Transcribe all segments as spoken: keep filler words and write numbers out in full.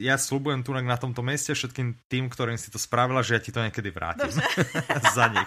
ja sľubujem tu na tomto mieste všetkým tým, ktorým si to spravila, že ja ti to niekedy vrátim. Za nich.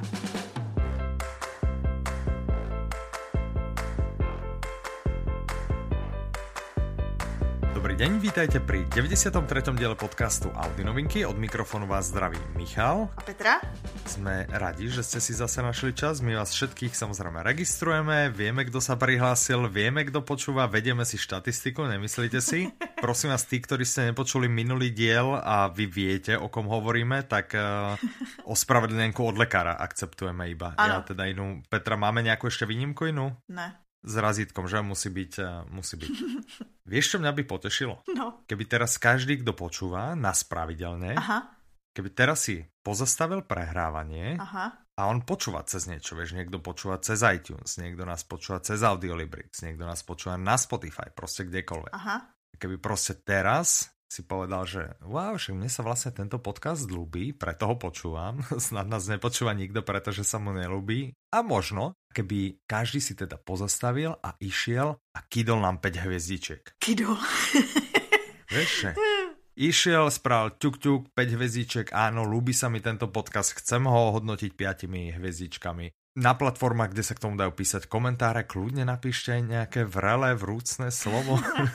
Dobrý deň, vítajte pri deväťdesiatom treťom diele podcastu Audi novinky. Od mikrofónu vás zdraví Michal. A Petra. Sme radi, že ste si zase našli čas. My vás všetkých samozrejme registrujeme. Vieme, kto sa prihlásil, vieme, kto počúva, vedieme si štatistiku, nemyslíte si? Prosím vás, tí, ktorí ste nepočuli minulý diel a vy viete, o kom hovoríme, tak uh, ospravedlnenku od lekára akceptujeme iba. Ano. Ja teda inú. Petra, máme nejakú ešte výnimku inú? Ne. S razítkom, že? Musí byť, uh, musí byť. Vieš, čo mňa by potešilo? No. Keby teraz každý, kto počúva nás pravidelne, Aha. keby teraz si pozastavil prehrávanie Aha. a on počúva cez niečo, vieš, niekto počúva cez iTunes, niekto nás počúva cez Audiolibrix, niekto nás počúva na Spotify, proste kdekoľvek. Aha. Keby proste teraz si povedal, že wow, však mne sa vlastne tento podcast ľúbi, preto ho počúvam, snad nás nepočúva nikto, pretože sa mu neľúbi. A možno, keby každý si teda pozastavil a išiel a kydol nám päť hviezdičiek. Kydol. Vieš, že? Išiel, spravil ťuk ťuk, päť hviezdičiek, áno, ľúbi sa mi tento podcast, chcem ho hodnotiť piatimi hviezdičkami. Na platformách, kde sa k tomu dajú písať komentáre, kľudne napíšte nejaké vrelé, vrúcne slovo.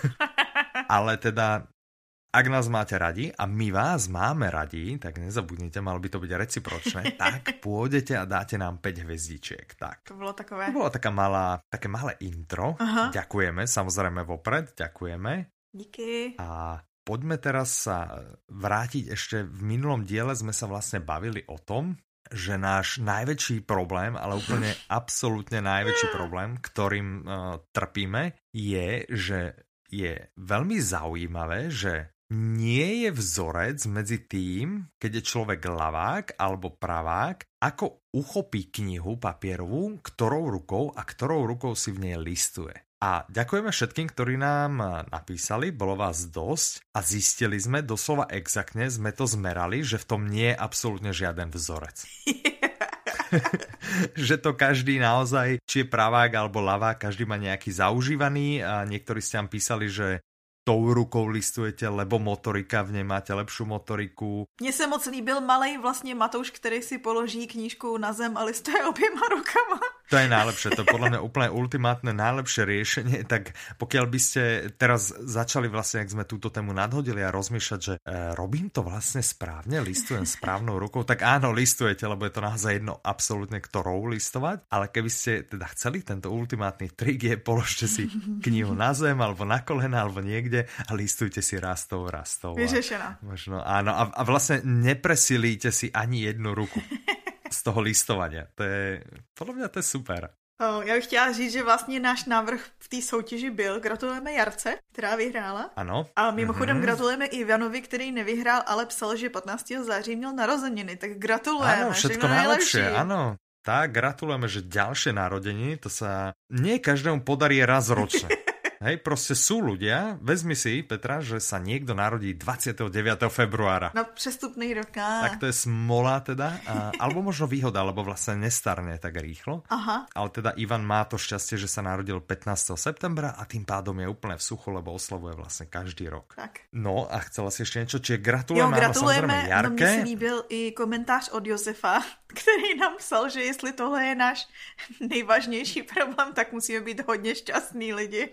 Ale teda, ak nás máte radi a my vás máme radi, tak nezabudnite, malo by to byť recipročné, tak pôjdete a dáte nám päť hviezdičiek. Tak. To bolo takové. To bolo taká malá, také malé intro. Aha. Ďakujeme, samozrejme vopred, ďakujeme. Díky. A poďme teraz sa vrátiť ešte, v minulom diele sme sa vlastne bavili o tom, že náš najväčší problém, ale úplne absolútne najväčší problém, ktorým uh, trpíme, je, že je veľmi zaujímavé, že nie je vzorec medzi tým, keď je človek ľavák alebo pravák, ako uchopí knihu papierovú, ktorou rukou a ktorou rukou si v nej listuje. A ďakujeme všetkým, ktorí nám napísali, bolo vás dosť a zistili sme, doslova exaktne sme to zmerali, že v tom nie je absolútne žiaden vzorec. Že to každý naozaj, či je pravák alebo ľavák, každý má nejaký zaužívaný a niektorí ste nám písali, že tou rukou listujete, lebo motorika, v nej máte lepšiu motoriku. Mně se moc líbil malej vlastně Matouš, který si položí knížku na zem a listuje oběma rukama. To je najlepšie, to je podľa mňa úplne ultimátne najlepšie riešenie, tak pokiaľ by ste teraz začali vlastne, ak sme túto tému nadhodili a rozmýšľať, že e, robím to vlastne správne, listujem správnou rukou, tak áno, listujete, lebo je to naozaj jedno absolútne, ktorou listovať, ale keby ste teda chceli tento ultimátny trik je, položte si knihu na zem, alebo na kolena, alebo niekde a listujte si rastou, rastou. Vyřešená. Možno, áno, a, a vlastne nepresilíte si ani jednu ruku z toho listovania. To je, podľa mňa to je super. Oh, já bych chtěla říct, že vlastně náš návrh v té soutěži byl. Gratulujeme Jarce, která vyhrála. Ano. A mimochodem mm-hmm. gratulujeme i Ivanovi, který nevyhrál, ale psal, že patnáctého září měl narozeniny. Tak gratulujeme. Áno, všetko najlepšie, áno. Tak, gratulujeme, že ďalšie narodeniny, to sa nie každému podarí raz ročne. Hej, proste sú ľudia, vezmi si, Petra, že sa niekto narodí dvadsiateho deviateho februára. No, přestupný rok. Á. Tak to je smola teda, a, alebo možno výhoda, lebo vlastne nestarne tak rýchlo. Aha. Ale teda Ivan má to šťastie, že sa narodil pätnásteho septembra a tým pádom je úplne v suchu, lebo oslavuje vlastne každý rok. Tak. No a chcela si ešte niečo, čiže gratulujeme, jo, gratulujeme, áno, Jarke. No mně se líbil i komentář od Josefa, který nám psal, že jestli tohle je náš nejvážnější problém, tak musíme být hodně šťastní lidi.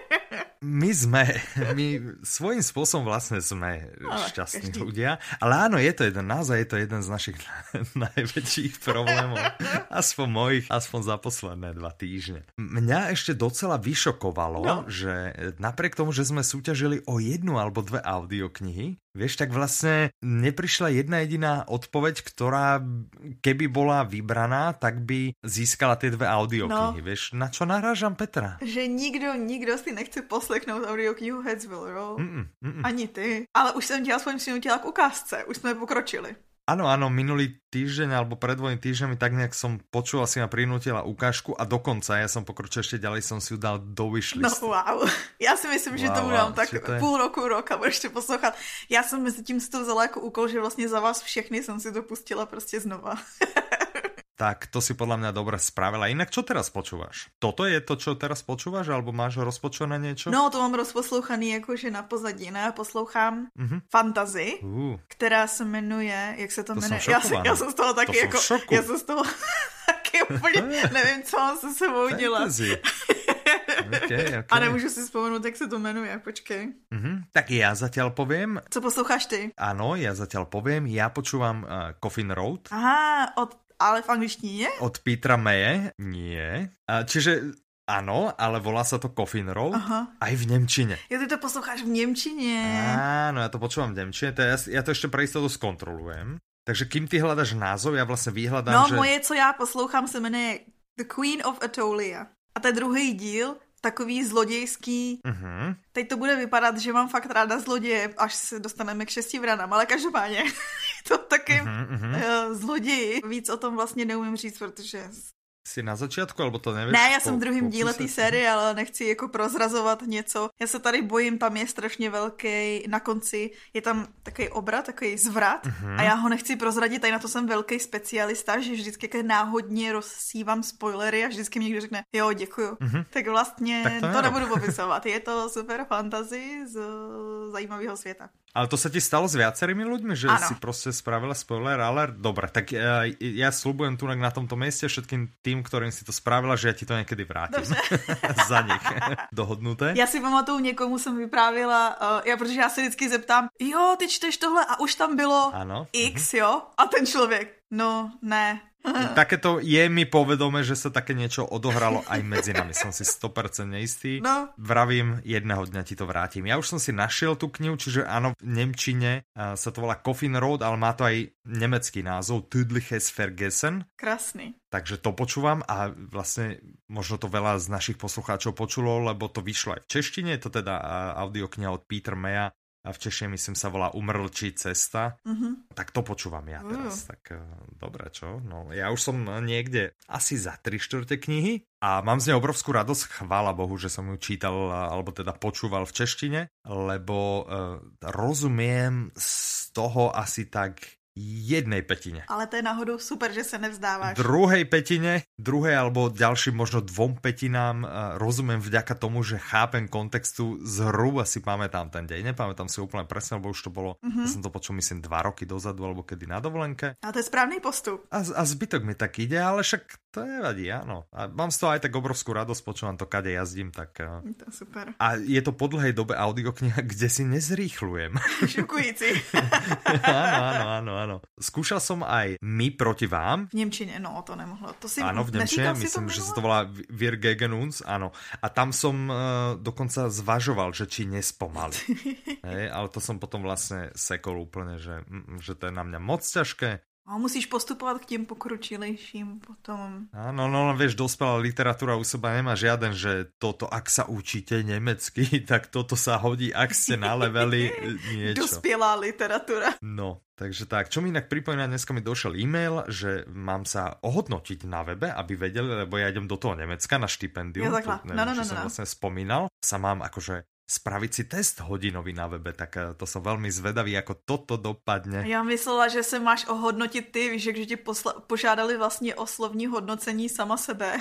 My sme, my svojím spôsobom vlastne sme ale šťastní každý. ľudia, ale áno, je to jeden, naozaj je to jeden z našich najväčších problémov, aspoň mojich, aspoň za posledné dva týždne. Mňa ešte docela vyšokovalo, no. že napriek tomu, že sme súťažili o jednu alebo dve audioknihy, vieš, tak vlastne neprišla jedna jediná odpoveď, ktorá keby bola vybraná, tak by získala tie dve audioknihy. No. Vieš, na čo narážam, Petra? Že nikdo, nikdo si nechce poslechnout audioknihu Headsville, jo? Mm-mm, mm-mm. Ani ty. Ale už jsem tě aspoň přinutila k ukázce. Už jsme pokročili. Áno, áno, minulý týždeň alebo pred dvojmi týždňami tak nejak som počul, asi ma prinútila ukážku a dokonca ja som pokročil ešte ďalej, som si ju dal do wishlist. No wow, já si myslím, wow, že to budám tak je... půl roku, rok a budeš to poslouchat. Já jsem mezi tím si to vzala jako úkol, že vlastně za vás všechny jsem si to pustila prostě znova. tak to si podľa mňa dobre spravila. Inak čo teraz počúvaš? Toto je to, čo teraz počúvaš, alebo máš rozpočúvané niečo? No, to mám rozposlouchaný jakože na pozadí, ne? Poslouchám uh-huh. Fantasy, uh. která se jmenuje, jak se to, to jmenuje? Já, já jsem z toho taky to jako, já jsem z toho taky úplně, nevím, co mám se sebou dělat. Okay, okay. A nemůžu si vzpomenout, jak se to jmenuje, počkej. Uh-huh. Tak já zatiaľ poviem. Co posloucháš ty? Áno, ja zatiaľ poviem, ja počúvam uh, Coffin Road. Aha, od, ale v angličtině? Od Petera Maye, nie. Uh, čiže áno, ale volá sa to Coffin Road. Aha. Aj v nemčine. Jo, ty to posloucháš v nemčině. Áno, ja to počúvam v nemčine, to ja, ja to ešte pre istotu skontrolujem. Takže kým ty hľadaš názov, ja vlastne vyhľadám, no, že... No, moje, co já poslouchám, se jmenuje The Queen of Atolia. A ten druhý díl, takový zlodějský. Uh-huh. Teď to bude vypadat, že mám fakt ráda zloděje, až se dostaneme k šesti vranám, ale každopádně to taky uh-huh, uh-huh. Uh, zloději. Víc o tom vlastně neumím říct, protože... Jsi na začátku, alebo to nevíš? Ne, já jsem v druhém díle té série, ale nechci jako prozrazovat něco. Já se tady bojím, tam je strašně velký, na konci je tam takový obrat, takový zvrat uh-huh. a já ho nechci prozradit, tady na to jsem velký specialista, že vždycky náhodně rozsívám spoilery a vždycky mi někdo řekne, jo, děkuju. Uh-huh. Tak vlastně tak to, to nebudu popisovat. Je to super fantasy z zajímavého světa. Ale to sa ti stalo s viacerými ľuďmi, že ano. si proste spravila spoiler, ale dobre, tak ja, ja sľubujem tu na tomto mieste všetkým tým, ktorým si to spravila, že ja ti to niekedy vrátim. Za nich. Dohodnuté. Já si pamatuju, někomu jsem vyprávila, uh, já, protože já se vždycky zeptám, jo, ty čteš tohle a už tam bylo ano. X, mhm. jo? A ten člověk, no, ne. Takéto je mi povedomé, že sa také niečo odohralo aj medzi nami. Som si sto percent neistý. No. Vravím, jedného dňa ti to vrátim. Ja už som si našiel tú knihu, čiže áno, v nemčine uh, sa to volá Coffin Road, ale má to aj nemecký názov Tödliches Vergessen. Krásny. Takže to počúvam a vlastne možno to veľa z našich poslucháčov počulo, lebo to vyšlo aj v češtine. Je to teda uh, audiokniha od Petera Maya. A v češtine, myslím, sa volá Umrlčí cesta. Uh-huh. Tak to počúvam ja teraz. Uh. Tak uh, dobre, čo? No, ja už som niekde asi za tri štvrte knihy a mám z nej obrovskú radosť. Chvála Bohu, že som ju čítal, alebo teda počúval v češtine, lebo uh, rozumiem z toho asi tak jednej petine. Ale to je náhodou super, že sa nevzdávaš. Druhej petine, druhej alebo ďalším možno dvom petinám uh, rozumiem vďaka tomu, že chápem kontextu, zhruba si pamätám ten deň. Nepamätám si úplne presne, lebo už to bolo, mm-hmm. ja som to počul myslím dva roky dozadu, alebo kedy na dovolenke. A to je správny postup. A, a zbytok mi tak ide, ale však to nevadí, áno. A mám z toho aj tak obrovskú radosť, počúvam to, kade jazdím, tak... Uh... To je super. A je to po dlhej dobe audiokniha, kde si nezrýchľujem. Šokujúci. Áno, áno, áno, áno. Skúšal som aj My proti vám. V nemčine, no to nemohlo. To si áno, v nemčine, myslím, že sa to volá Wir gegen uns, áno. A tam som uh, dokonca zvažoval, že či nespomali. Hej, ale to som potom vlastne sekol úplne, že, že to je na mňa moc ťažké. A musíš postupovat k těm pokročilejším potom. Áno, no, no vieš, dospelá literatúra u seba nemá žiaden, že toto, ak sa učíte nemecky, tak toto sa hodí, ak ste na leveli niečo. Dospelá literatúra. No, takže tak. Čo mi inak pripomína, dneska mi došiel e-mail, že mám sa ohodnotiť na webe, aby vedeli, lebo ja idem do toho Nemecka na štipendium. Ja, takhle. To, neviem, no, no, no, čo no, som no. vlastne spomínal. Sa mám akože spraviť si test hodinový na webe, tak to som veľmi zvedavý, ako toto dopadne. Já myslela, že se máš ohodnotit ty, víš, že ti posla- požádali vlastně o slovní hodnocení sama sebe.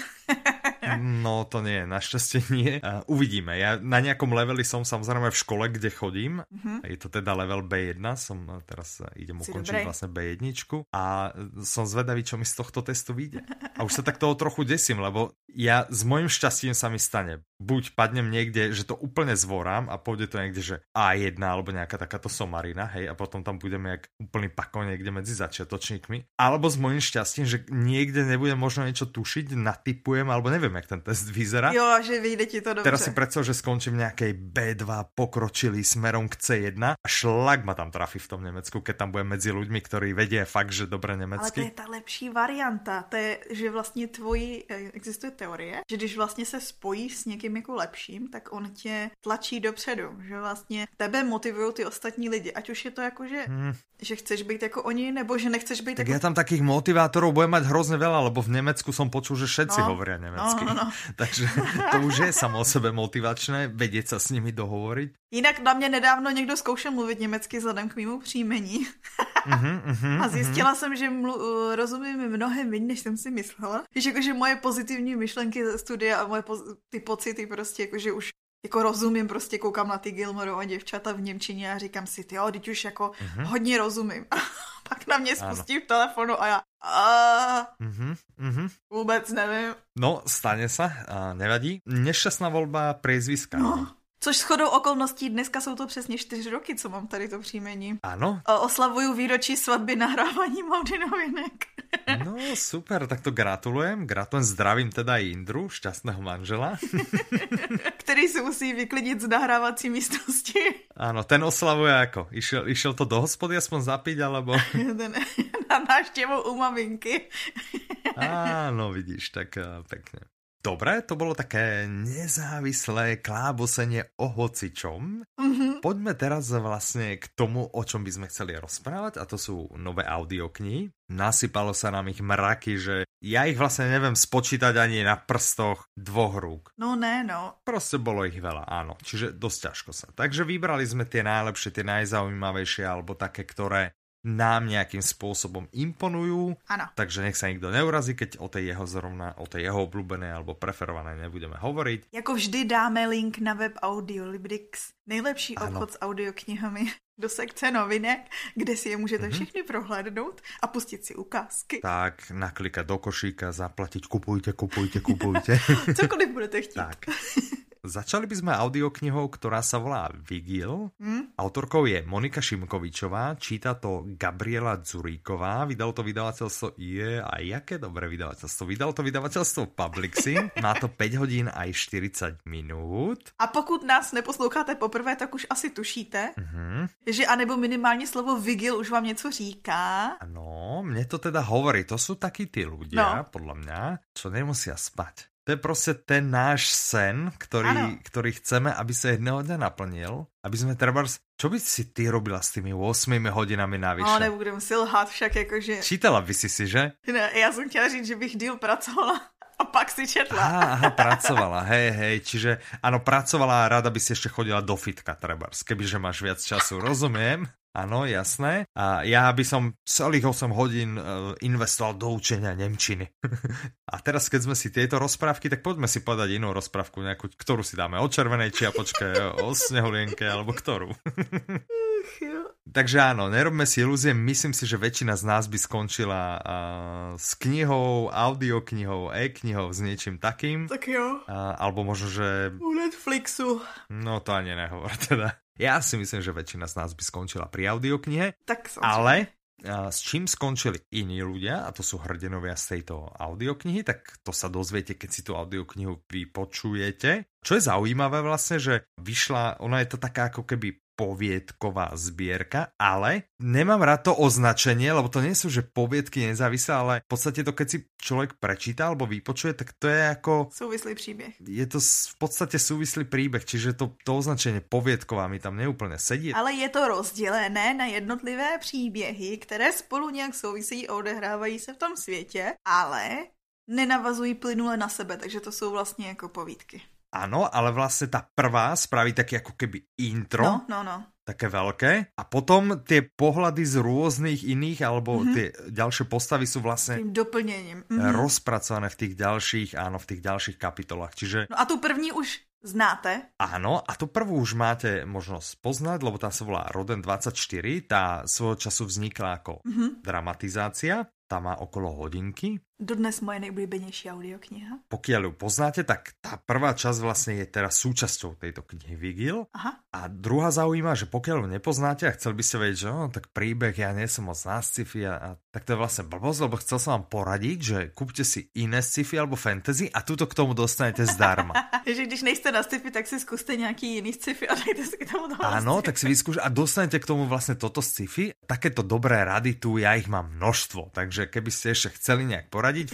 No to nie, našťastie nie. Uh, uvidíme. Ja na nejakom leveli som samozrejme v škole, kde chodím. Uh-huh. Je to teda level bé jedna, som teraz idem si ukončiť dobrej. Vlastne bé jedna a som zvedavý, čo mi z tohto testu vyjde. A už sa tak toho trochu desím, lebo ja s mojím šťastím sa mi stane. Buď padnem niekde, že to úplne zvorám a pôjde to niekde, že á jedna alebo nejaká takáto somarina, hej, a potom tam budeme jak úplný pako niekde medzi začiatočníkmi. Alebo s mojím šťastím, že niekde nebudem možno niečo tušiť, natypujem, alebo neviem, jak ten test vyzerá. Jo, že vyjde ti to dobře. Teraz si predstav, že skončím v nejakej bé dva pokročilý smerom k cé jedna a šlak ma tam trafí v tom Nemecku, keď tam budem medzi ľuďmi, ktorí vedia fakt, že dobre nemecky. Ale to je ta lepší varianta. To je, že vlastně tvoji, existuje teorie, že když vlastně se spojíš s někým jako lepším, tak on tě tlačí dopředu, že vlastně tebe motivují ty ostatní lidi, ať už je to jako, že, hmm. že chceš být jako oni, nebo že nechceš být tak jako... ja tam takých motivátorov budem mať hrozne veľa, lebo v Nemecku som počul, že všetci no, hovoria nemecky. no, no. Takže to už je samo o sebe motivačné, vedieť sa s nimi dohovoriť. Jinak na mě nedávno někdo zkoušel mluvit německy vzhledem k mému příjmení. Uh-huh, uh-huh, a zjistila uh-huh. jsem, že mlu- rozumím mnohem méně, než jsem si myslela. Víš, jakože moje pozitivní myšlenky ze studia a moje poz- ty pocity prostě, jakože už jako rozumím, prostě koukám na ty Gilmoreova děvčata v němčině a říkám si, tyjo, teď už jako uh-huh. hodně rozumím. Pak na mě spustí v telefonu a já a... Uh-huh, uh-huh. vůbec nevím. No, stane sa, a nevadí. Nešťastná voľba priezviska. No. Což shodou okolností dneska jsou to přesně čtyři roky, co mám tady to příjmení. Áno. Oslavuju výročí svatby nahrávaním Audi novinek. No super, tak to gratulujem. Gratulujem, zdravím teda i Indru, šťastného manžela. Který si musí vyklidit z nahrávací místnosti. Áno, ten oslavuje ako? Išiel, išiel to do hospody aspoň zapiť, alebo... Ten, na návštěvu u maminky. Áno, vidíš, tak pekne. Dobre, to bolo také nezávislé klábosenie o hocičom. Mm-hmm. Poďme teraz vlastne k tomu, o čom by sme chceli rozprávať, a to sú nové audioknihy. Nasypalo sa nám ich mraky, že ja ich vlastne neviem spočítať ani na prstoch dvoch rúk. No ne, no. Proste bolo ich veľa, áno. Čiže dosť ťažko sa. Takže vybrali sme tie najlepšie, tie najzaujímavejšie, alebo také, ktoré nám nejakým spôsobom imponujú. Ano. Takže nech sa nikto neurazí, keď o tej jeho zrovna, o tej jeho obľúbenej alebo preferovanej nebudeme hovoriť. Jako vždy dáme link na web Audiolibrix. Nejlepší ano. obchod s audioknihami do sekce novinek, kde si je můžete mm-hmm. všechny prohlédnout a pustit si ukázky. Tak, naklikať do košíka, zaplatiť, kupujte, kupujte, kupujte. Cokoliv budete chtít. Tak. Začali by sme audioknihou, ktorá sa volá Vigil. Hmm? Autorkou je Monika Šimkovičová, číta to Gabriela Dzuríková, vydalo to vydavateľstvo je a jaké dobré vydavateľstvo. Vydalo to vydavateľstvo Publixy, má to päť hodín aj štyridsať minút. A pokud nás neposloucháte poprvé, tak už asi tušíte, uh-huh. že anebo minimálně slovo Vigil už vám něco říká. Ano, mne to teda hovorí, to sú takí tí ľudia, no. podľa mňa, čo nemusia spať. To je proste ten náš sen, ktorý, ktorý chceme, aby sa jedného dňa naplnil. Aby sme trebárs... Čo by si ty robila s tými ôsmimi hodinami navyše? No, nebudem si lhát však, jakože... Čítala by si si, že? Ne, já jsem chtěla říct, že bych díl pracovala a pak si četla. Aha, aha, pracovala, hej, hej. Čiže, áno, pracovala a rada by si ešte chodila do fitka, trebárs. Kebyže máš viac času, rozumiem. Áno, jasné. A ja by som celých osem hodín investoval do učenia nemčiny. A teraz, keď sme si tieto rozprávky, tak poďme si povedať inú rozprávku, nejakú, ktorú si dáme o červenej čiapočke, o snehulienke, alebo ktorú. Takže áno, nerobme si ilúzie, myslím si, že väčšina z nás by skončila uh, s knihou, audioknihou, e-knihou, s niečím takým. Tak jo. Uh, alebo možno, že... U Netflixu. No to ani nehovor teda. Ja si myslím, že väčšina z nás by skončila pri audioknihe, tak ale a, s čím skončili iní ľudia, a to sú hrdinovia z tejto audioknihy, tak to sa dozviete, keď si tú audioknihu vypočujete. Čo je zaujímavé vlastne, že vyšla, ona je to taká ako keby poviedková zbierka, ale nemám rád to označenie, lebo to nie sú, že poviedky nezávislé, ale v podstate to, keď si človek prečíta alebo vypočuje, tak to je ako... Súvislý príbeh. Je to v podstate súvislý príbeh, čiže to, to označenie poviedková mi tam neúplne sedí. Ale je to rozdělené na jednotlivé příběhy, které spolu nějak souvisí a odehrávají se v tom světě, ale nenavazují plynule na sebe, takže to jsou vlastně jako povídky. Áno, ale vlastne tá prvá spraví také ako keby intro, no, no, no. také veľké, a potom tie pohľady z rôznych iných, alebo mm-hmm. tie ďalšie postavy sú vlastne tým doplnením mm-hmm. rozpracované v tých ďalších, áno, v tých ďalších kapitolách. Čiže... No a tu první už znáte? Áno, a tu prvú už máte možnosť poznať, lebo tá sa volá Roden dvadsaťštyri, tá svojho času vznikla ako mm-hmm. dramatizácia, tá má okolo hodinky. Dodnes moje nejblíbenější audiokniha. Pokiaľ ju poznáte, tak tá prvá časť vlastne je teraz súčasťou tejto knihy Vigil. Aha. A druhá zaujíma, že pokiaľ ju nepoznáte a chcel by ste vedieť, že no, tak príbeh, ja nie som moc na sci-fi, a, a, tak to je vlastne blbosť, lebo chcel som vám poradiť, že kúpte si iné sci-fi alebo fantasy a túto k tomu dostanete zdarma. že když nejste na sci-fi, tak si skúste nejaký iný sci-fi a dajte si k tomu toho. Áno, tak si vyskúšate a dostanete k tomu vlastne toto sci-fi. Takéto dobré rady tu, ja ich mám množstvo, takže keby ste ešte chceli nejak poradiť,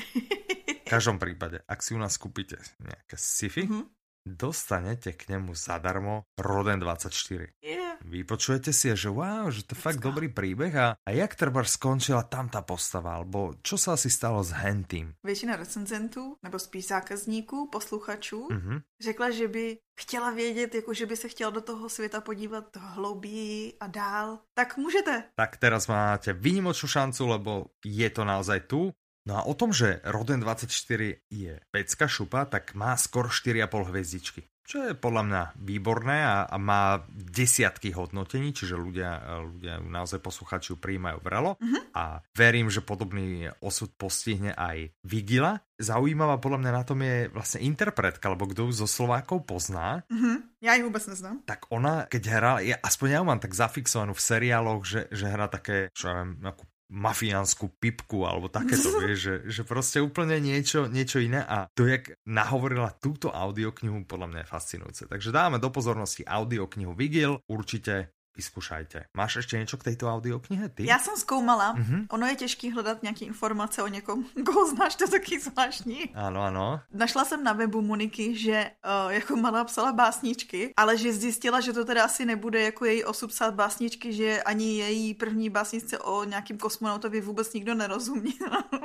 v každom prípade, ak si u nás kúpite nejaké sci-fi, mm-hmm. dostanete k nemu zadarmo Roden dvadsaťštyri. Yeah. vypočujete si, že wow, že to je fakt dobrý príbeh a, a jak treba skončila tam tá postava, alebo čo sa asi stalo s hentým? Většina recenzentů, nebo spíš zákazníků, posluchačů, Mm-hmm. řekla, že by chtěla vědět, jako že by se chtěla do toho světa podívat hlouběji a dál. Tak můžete. Tak teraz máte výnimočnú šancu, lebo je to naozaj tu. No a o tom, že Roden dvadsaťštyri je pecka šupa, tak má skoro štyri a pol hviezdičky. Čo je podľa mňa výborné a, a má desiatky hodnotení, čiže ľudia, ľudia naozaj posluchači ju prijímajú vrelo. Mm-hmm. A verím, že podobný osud postihne aj Vigila. Zaujímavá podľa mňa na tom je vlastne interpretka, lebo kto ju zo Slovákov pozná. Mm-hmm. Ja ju vôbec neznám. Tak ona, keď hrá, ja, aspoň ja ju mám tak zafixovanú v seriáloch, že, že hrá také, čo ja viem, nejakú mafiánsku pipku alebo takéto, vieš, že, že proste úplne niečo, niečo iné a to, jak nahovorila túto audioknihu, podľa mňa je fascinujúce. Takže dáme do pozornosti audioknihu Vigil, určite vyskúšajte. Máš ešte niečo k tejto audioknihe, ty? Já jsem zkoumala. Mm-hmm. Ono je těžký hledat nějaké informace o někom, koho znáš, to je taky zvláštní. Áno, áno. Našla jsem na webu Moniky, že uh, jako malá psala básničky, ale že zjistila, že to teda asi nebude jako její osud psát básničky, že ani její první básničce o nějakým kosmonautovi vůbec nikdo nerozumí.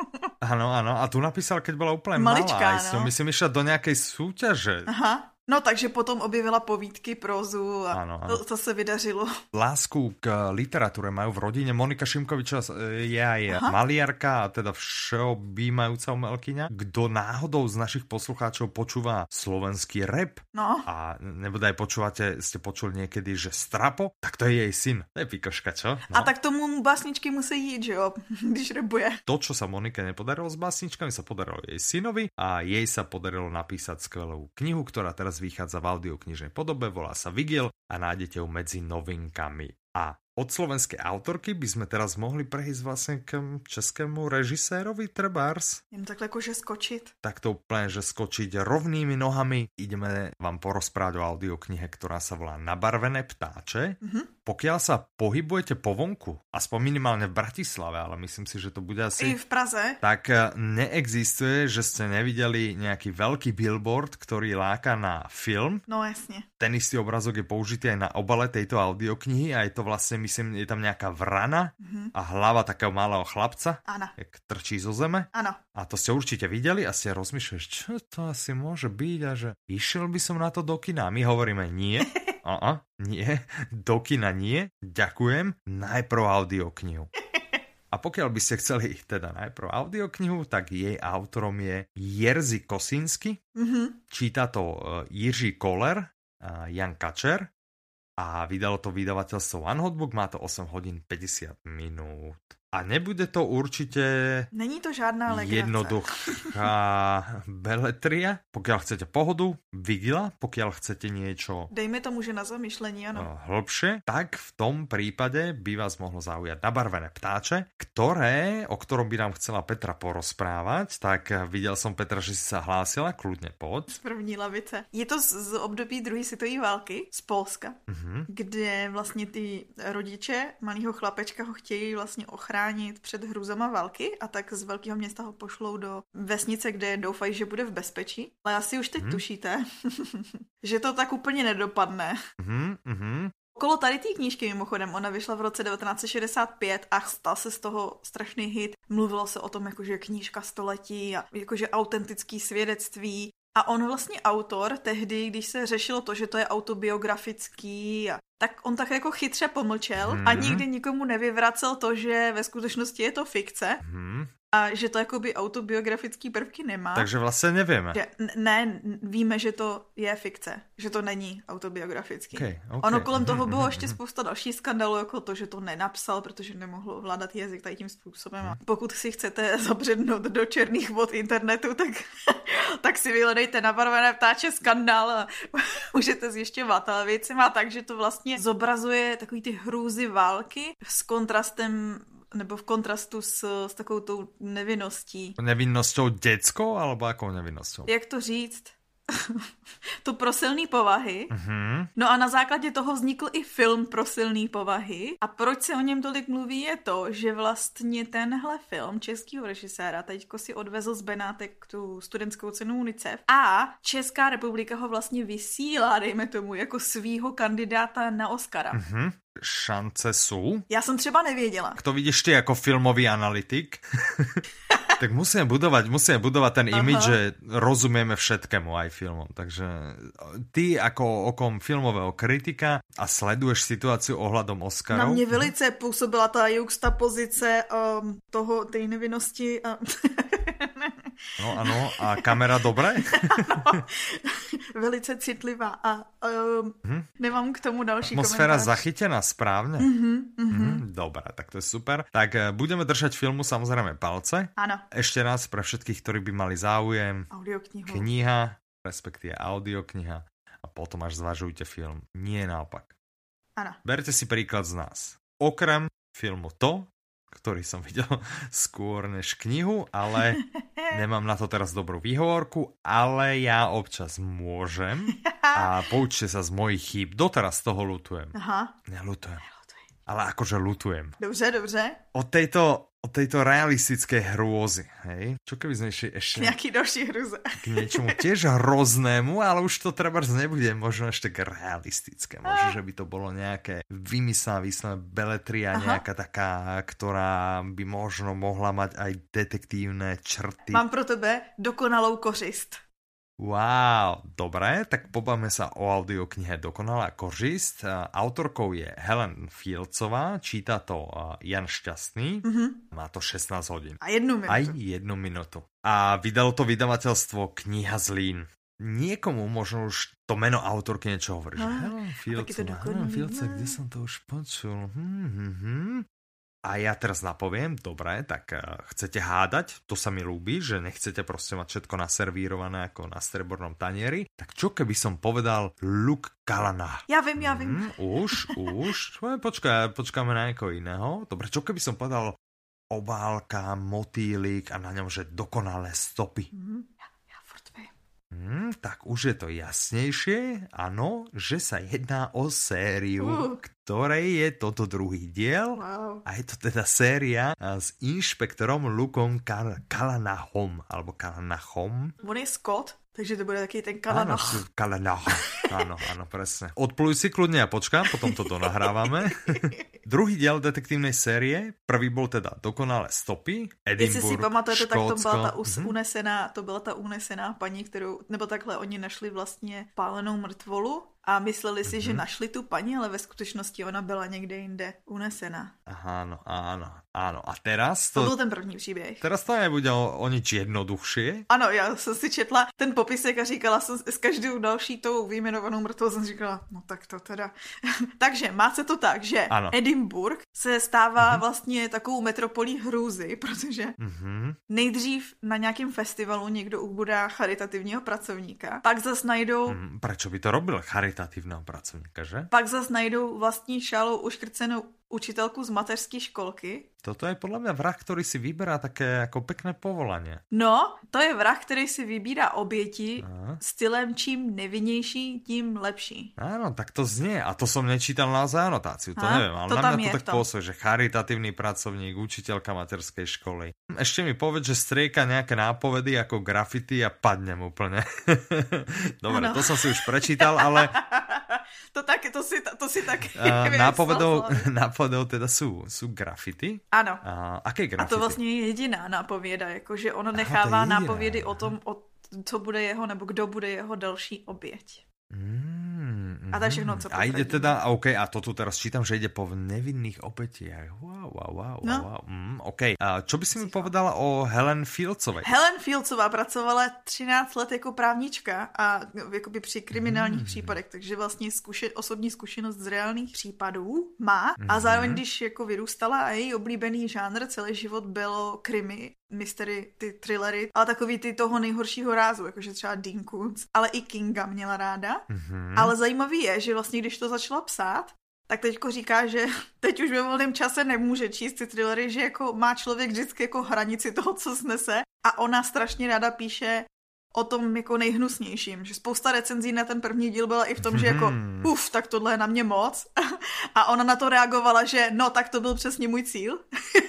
Áno, áno. A tu napísal, keď bola úplne Maličká, malá. no. Som myslím, išla do nejakej súťaže. Aha. No, takže potom objevila povídky, prózu a ano, ano. to, to se vydařilo. Lásku k literatúre majú v rodine. Monika Šimkovičová je aj Aha. maliarka a teda všeobjímajúca umelkyňa. Kto náhodou z našich poslucháčov počúva slovenský rap no. a nebodaj počúvate, ste počuli niekedy, že Strapo, tak to je jej syn. To je pikoška, čo? No. A tak tomu básničky musí jít, že jo, když rapuje. To, čo sa Monike nepodarilo s básničkami, sa podarilo jej synovi a jej sa podarilo napísať skvelú knihu, ktorá teraz vychádza v audioknižnej podobe, volá sa Vigil a nájdete ju medzi novinkami. A od slovenskej autorky by sme teraz mohli prejsť vlastne k českému režisérovi trebárs. Jem takhle akože skočiť. Tak to úplne, že skočiť rovnými nohami. Ideme vám porozprávať o audioknihe, ktorá sa volá Nabarvené ptáče. Mm-hmm. Pokiaľ sa pohybujete po vonku, aspoň minimálne v Bratislave, ale myslím si, že to bude asi... I v Praze. Tak neexistuje, že ste nevideli nejaký veľký billboard, ktorý láka na film. No jasne. Ten istý obrazok je použitý aj na obale tejto audioknihy a je to vlastne, myslím, je tam nejaká vrana mm-hmm. a hlava takého malého chlapca, Áno. jak trčí zo zeme. Áno. A to ste určite videli a ste rozmýšľali, čo to asi môže byť a že išiel by som na to do kina. A my hovoríme nie. Aha, nie, do kina nie, ďakujem, najprv audioknihu. A pokiaľ by ste chceli teda najprv audioknihu, tak jej autorom je Jerzy Kosinsky, mm-hmm. číta to Jiří Koller, Jan Kačer a vydalo to vydavateľstvo One Hotbook, má to osem hodín päťdesiat minút. A nebude to určite Není to žádná legrace. Jednoduchá beletria. Pokiaľ chcete pohodu, Vigila, pokiaľ chcete niečo dejme tomu, že na zamyšlení, ano. Hĺbšie, tak v tom prípade by vás mohlo zaujať Nabarvené ptáče, ktoré, o ktorom by nám chcela Petra porozprávať, tak videl som Petra, že si sa hlásila, kľudne poď. Z první lavice. Je to z, z období druhé světové války z Polska, uh-huh. kde vlastně ty rodiče malého chlapečka ho chtějí vlastně ochránit před hrůzama války a tak z velkého města ho pošlou do vesnice, kde doufají, že bude v bezpečí. Ale asi už teď mm. tušíte, že to tak úplně nedopadne. Mm, mm. Okolo tady té knížky mimochodem, ona vyšla v roce devatenáct set šedesát pět a stal se z toho strašný hit. Mluvilo se o tom, jakože knížka století a jakože autentický svědectví. A on vlastně autor tehdy, když se řešilo to, že to je autobiografický, a tak on tak jako chytře pomlčel hmm. a nikdy nikomu nevyvracel to, že ve skutečnosti je to fikce. Hmm. A že to jakoby autobiografický prvky nemá. Takže vlastně nevíme. Že ne, víme, že to je fikce. Že to není autobiografický. Okay, okay. Ono kolem toho bylo ještě spousta dalších skandalů, jako to, že to nenapsal, protože nemohl ovládat jazyk tady tím způsobem. A pokud si chcete zabřednout do černých vod internetu, tak, tak si vyhledejte Nabarvené ptáče skandál a můžete zjišťovat. Ale věc má tak, že to vlastně zobrazuje takový ty hrůzy války s kontrastem nebo v kontrastu s, s takovou tou nevinností. Nevinností dětskou, alebo jakou nevinností? Jak to říct? tu pro silný povahy. Uh-huh. No a na základě toho vznikl i film pro silný povahy. A proč se o něm tolik mluví je to, že vlastně tenhle film českého režiséra teďko si odvezl z Benátek tu studentskou cenu UNICEF a Česká republika ho vlastně vysílá, dejme tomu, jako svýho kandidáta na Oscara. Uh-huh. Šance sú? Já jsem třeba nevěděla. Kto vidíš ty jako filmový analytik? Tak musíme budovať, musíme budovať ten image, že rozumieme všetkému aj filmom. Takže ty ako okom filmového kritika a sleduješ situáciu ohľadom Oscarov. Na mě velice působila ta juxtapozice um, toho, tej nevinnosti. A... No ano, a kamera dobré? Ano, velice citlivá a um, hmm. nemám k tomu další Atmosféra komentář. zachytená správne? Mm-hmm, mm-hmm. Mm, dobré, tak to je super. Tak budeme držať filmu samozrejme palce. Áno. Ešte raz pre všetkých, ktorí by mali záujem. Audioknihu. Kniha, respektíve audiokniha a potom až zvažujte film. Nie naopak. Áno. Berte si príklad z nás. Okrem filmu To, ktorý som videl skôr než knihu, ale nemám na to teraz dobrú výhovorku, ale ja občas môžem a poučte sa z mojich chýb. Doteraz toho ľutujem. Aha. Neľutujem. Ale akože ľutujem. Dobře, dobře. Od tejto, od tejto realistickej hrôzy, hej? Čo keby sme ešte... ešte Nejaký další hruze. K niečomu tiež hroznému, ale už to trebárs nebude možno ešte tak realistické. Možno, že by to bolo nejaké vymyslené, vyslené beletria, nejaká taká, ktorá by možno mohla mať aj detektívne črty. Mám pro tebe dokonalou kořist. Wow, dobre, tak pobavme sa o audioknihe Dokonalá kořist. Autorkou je Helen Fieldsová, číta to Jan Šťastný, mm-hmm. má to šestnásť hodín. A jednu minutu. Aj jednu minutu. A vydalo to vydavateľstvo Kniha Zlín. Niekomu možno už to meno autorky niečo hovorí. No, Helen Fieldsová, Helen Fieldsová, kde som to už počul? Hmm, hmm, hmm. A ja teraz napoviem, dobre, tak uh, chcete hádať, to sa mi ľúbi, že nechcete proste mať všetko naservírované ako na strebornom tanieri. Tak čo keby som povedal Luke Callanan? Ja viem, ja viem. Mm, už, už. Počkaj, počkáme na niekoho iného. Dobre, čo keby som povedal obálka, motýlik a na ňom, že dokonalé stopy? Mm, ja, ja furt viem. Hmm, tak už je to jasnejšie, áno, že sa jedná o sériu, uh. ktorej je toto druhý diel. Wow. A je to teda séria s inšpektorom Lukom Callanachom, alebo Callanachom. On je Scott, takže to bude taký ten Callanach. Áno, Callanach. Áno, áno, presne. Odpluj si kľudne a počkám, potom to donahrávame. Druhý diel detektívnej série, prvý bol teda Dokonalé stopy, Edinburgh, Jestli si pamatujete, tak to byla ta us- mm-hmm. unesená, to byla ta unesená paní, kterou, nebo takhle oni našli vlastně pálenou mrtvolu a mysleli si, mm-hmm. že našli tu paní, ale ve skutečnosti ona byla někde jinde unesená. Aha, áno, áno, áno. A teraz to... To byl ten první příběh. Teraz to nebude o, o nič jednoduchšie. Ano, já jsem si četla ten popisek a říkala jsem s každou další tou vyjmenovanou mrtvou, jsem říkala, no tak to teda. Takže má se to tak, že ano. Edinburgh se stává mm-hmm. vlastně takovou metropolí hrůzy, protože mm-hmm. nejdřív na nějakém festivalu někdo ubudá charitativního pracovníka, pak zas najdou... Mm, prečo by to robil charitativného pracovníka, že? Pak zas najdou vlastní šálou uškrcenou učitelku z mateřské školky. Toto je podľa mňa vrah, ktorý si vyberá také ako pekné povolanie. No, to je vrah, který si vybírá oběti Aha. stylem čím nevinnější, tím lepší. Áno, tak to znie. A to som nečítal na anotáciu, to ha? neviem. Ale to na mňa je to tak pôsobí, že charitatívny pracovník, učiteľka materskej školy. Ešte mi povedz, že strieka nejaké nápovedy ako graffiti a padnem úplne. Dobre, ano. To som si už prečítal, ale... To, tak, to, si, to si tak... Uh, nápovedou, nápovedou teda sú, sú grafity. Ano. Uh, aké grafity? A to vlastně je jediná nápověda, jakože ono nechává Aha, nápovědy o tom, o, co bude jeho, nebo kdo bude jeho další oběť. Mm, a to je všechno, co a ide teda, ok, a to tu teraz čítam, že ide po nevinných obetiach. Wow, wow, wow, no. wow. Mm, ok, a čo by si mi povedala o Helen Fieldsovej? Helen Fieldsová pracovala třináct let jako právnička a jakoby při kriminálních mm. případech, takže vlastně zkuše, osobní zkušenost z reálných případů má mm. a zároveň, když jako vyrůstala a její oblíbený žánr celý život bylo krimi, mystery, ty thrillery, ale takový ty toho nejhoršího rázu, jakože třeba Dean Koontz, ale i Kinga měla ráda. Mm-hmm. Ale zajímavý je, že vlastně když to začala psát, tak teďko říká, že teď už ve volném čase nemůže číst ty thrillery, že jako má člověk vždycky jako hranici toho, co snese a ona strašně ráda píše o tom jako nejhnusnějším, že spousta recenzí na ten první díl byla i v tom, že jako uf, tak tohle je na mě moc. A ona na to reagovala, že no, tak to byl přesně můj cíl.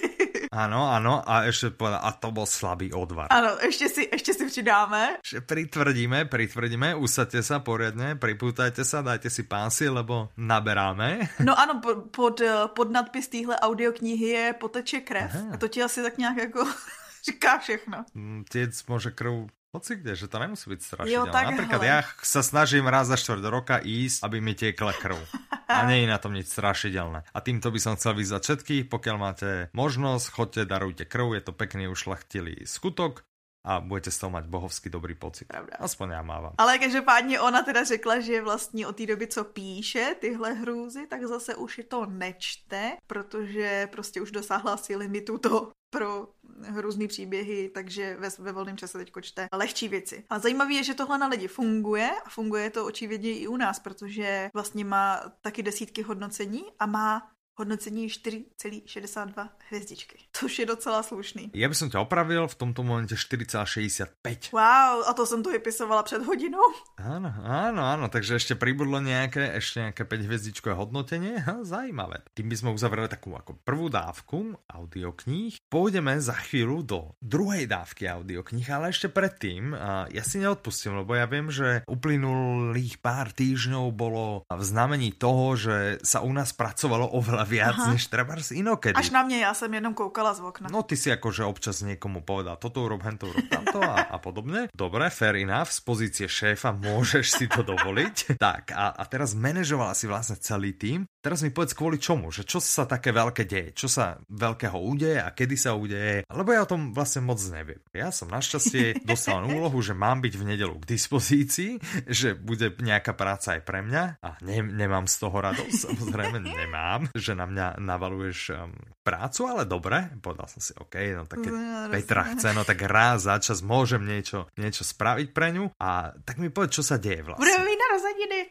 Áno, áno, a ešte povedal, a to bol slabý odvar. Áno, ešte si, ešte si přidáme. Že pritvrdíme, pritvrdíme, usaďte sa poriadne, pripútajte sa, dajte si pásy, lebo naberáme. No ano, pod, pod nadpis téhle audioknihy je Poteče krev. Aha. A to ti asi tak nějak jako říká všechno. Tiec môže krv hoci kde, že to nemusí byť strašidelné. Jo, tak napríklad hele. ja sa snažím raz za štvrť roka ísť, aby mi tiekla krv. A nie je na tom nič strašidelné. A týmto by som chcel vyzvať všetkých, pokiaľ máte možnosť, choďte, darujte krv, je to pekný ušľachtilý skutok a budete z toho mať bohovský dobrý pocit. Pravda. Aspoň ja mávam. Ale každopádně ona teda řekla, že vlastně od té doby, co píše tyhle hrůzy, tak zase už je to nečte, protože prostě už dosáhla si limitu to pro hrůzný příběhy, takže ve, ve volném čase teďko čte lehčí věci. A zajímavé je, že tohle na lidi funguje a funguje to očividně i u nás, protože vlastně má taky desítky hodnocení a má hodnocení čtyři celá šedesát dva hvězdičky, což je docela slušný. Ja by som ťa opravil, v tomto momente štyri celá šesťdesiatpäť. Wow, a to som to vypisovala před hodinou. Áno, áno, áno, takže ešte pribudlo nejaké, ešte nejaké päť hviezdičkové hodnotenie, ha, zaujímavé. Tým by sme uzavreli takú ako prvú dávku audiokníh. Pôjdeme za chvíľu do druhej dávky audiokníh, ale ešte predtým ja si neodpustím, lebo ja viem, že uplynulých pár týždňov bolo v znamení toho, že sa u nás pracovalo oveľa viac, aha, než trebárs inokedy. Až na mne, ja som jenom koukala z okna. No ty si akože občas niekomu povedal, toto urob, hento urob, tamto a, a podobne. Dobre, fair enough, z pozície šéfa môžeš si to dovoliť. Tak a, a teraz manažovala si vlastne celý tým. Teraz mi povedz kvôli čomu, že čo sa také veľké deje, čo sa veľkého udeje a kedy sa udeje, lebo ja o tom vlastne moc neviem. Ja som našťastie dostal úlohu, že mám byť v nedeľu k dispozícii, že bude nejaká práca aj pre mňa a ne, nemám z toho radosť, samozrejme nemám, že na mňa navaluješ um, prácu, ale dobre, povedal som si, OK, no tak keď Petra chce, no tak raz za čas môžem niečo, niečo spraviť pre ňu a tak mi povedz, čo sa deje vlastne. Budeme mít narozeniny.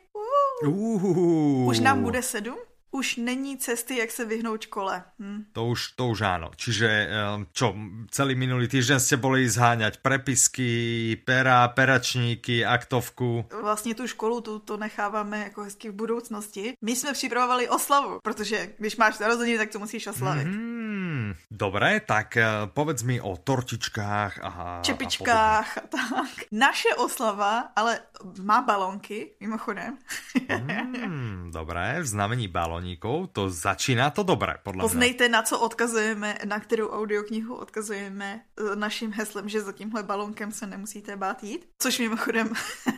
Uh. Už nám bude sedm? Už není cesty, jak se vyhnout škole. Hm. To už, to už áno. Čiže čo, celý minulý týždeň ste boli zháňať prepisky, pera, peračníky, aktovku. Vlastně tu školu tu, to necháváme jako hezky v budoucnosti. My jsme připravovali oslavu, protože když máš narozeniny, tak to musíš oslavit. Mm, dobre, tak povedz mi o tortičkách a čepičkách a, a tak. Naše oslava, ale má balónky, mimochodem. mm, dobre, v znamení balónky. To začíná to dobré, podľa mňa. Poznejte, na co odkazujeme, na kterou audioknihu odkazujeme naším heslem, že za tímhle balónkem se nemusíte bát jít. Což mimochodem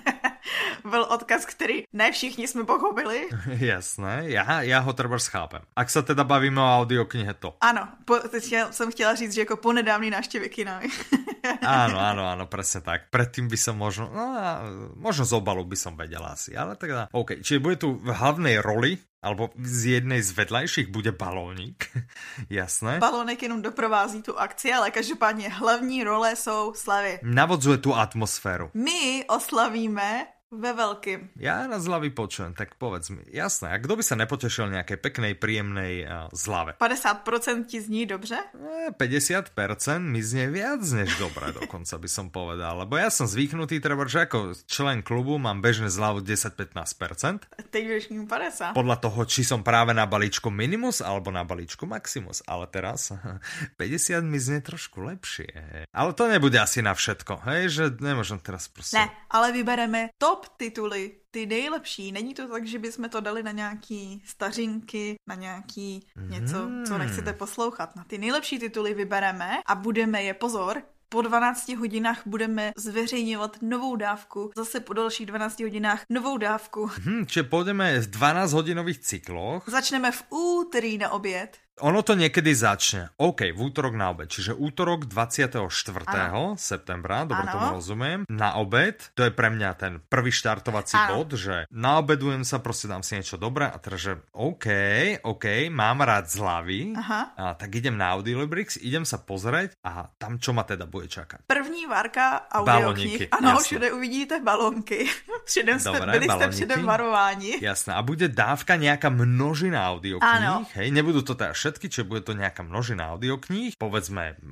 byl odkaz, který ne všichni jsme pochopili. Jasné, já, já ho treba schápem. Ak sa teda bavíme o audioknihe, to. Ano, po, teď jsem chtěla říct, že jako po nedávný návštěvě kina. Áno, áno, áno, presne tak. Predtým by som možno, no, možno z obalu by som vedel asi, ale teda, OK. Čiže bude tu v hlavnej roli, alebo z jednej z vedľajších bude balónik, jasné. Balónek jenom doprovází tu akci, ale každopádně hlavní role jsou slavy. Navodzuje tu atmosféru. My oslavíme ve veľkým. Ja na zľavy počujem, tak povedz mi. Jasné, a kto by sa nepotešil nejakej peknej, príjemnej uh, zľave? päťdesiat percent ti zní dobře? E, päťdesiat percent mi znie viac než dobre, dokonca by som povedal. Lebo ja som zvyknutý, treba, že ako člen klubu mám bežné zľavu desať až pätnásť percent. Teď budeš mít päťdesiat. Podľa toho, či som práve na balíčku Minimus alebo na balíčku Maximus. Ale teraz päťdesiat mi znie trošku lepšie. Ale to nebude asi na všetko, hej? Že nemôžem teraz proste... Ne, ale vybereme top tituly, ty nejlepší. Není to tak, že bychom to dali na nějaký stařinky, na nějaký něco, co nechcete poslouchat. Na ty nejlepší tituly vybereme a budeme je, pozor, po dvanácti hodinách budeme zveřejňovat novou dávku. Zase po dalších dvanácti hodinách novou dávku. Hmm, čiže pôjdeme v dvanásťhodinových cykloch. Začneme v úterý na oběd. Ono to niekedy začne. OK, v útorok na obed. Čiže útorok dvadsiateho štvrtého septembra, dobre tomu rozumiem, na obed. To je pre mňa ten prvý štartovací ano. bod, že naobedujem sa, proste dám si niečo dobré a teraz, že OK, OK, mám rád zľavy, a tak idem na Audiolibrix, idem sa pozrieť a tam čo ma teda bude čakať. První várka audioknih. Ano, jasne. Všude uvidíte balónky. Předem ste, byli ste předem varováni. Jasné. A bude dávka nejaká množina audiokníh. Hej, nebudú to teda všetky, čiže bude to nejaká množina audiokníh, povedzme možno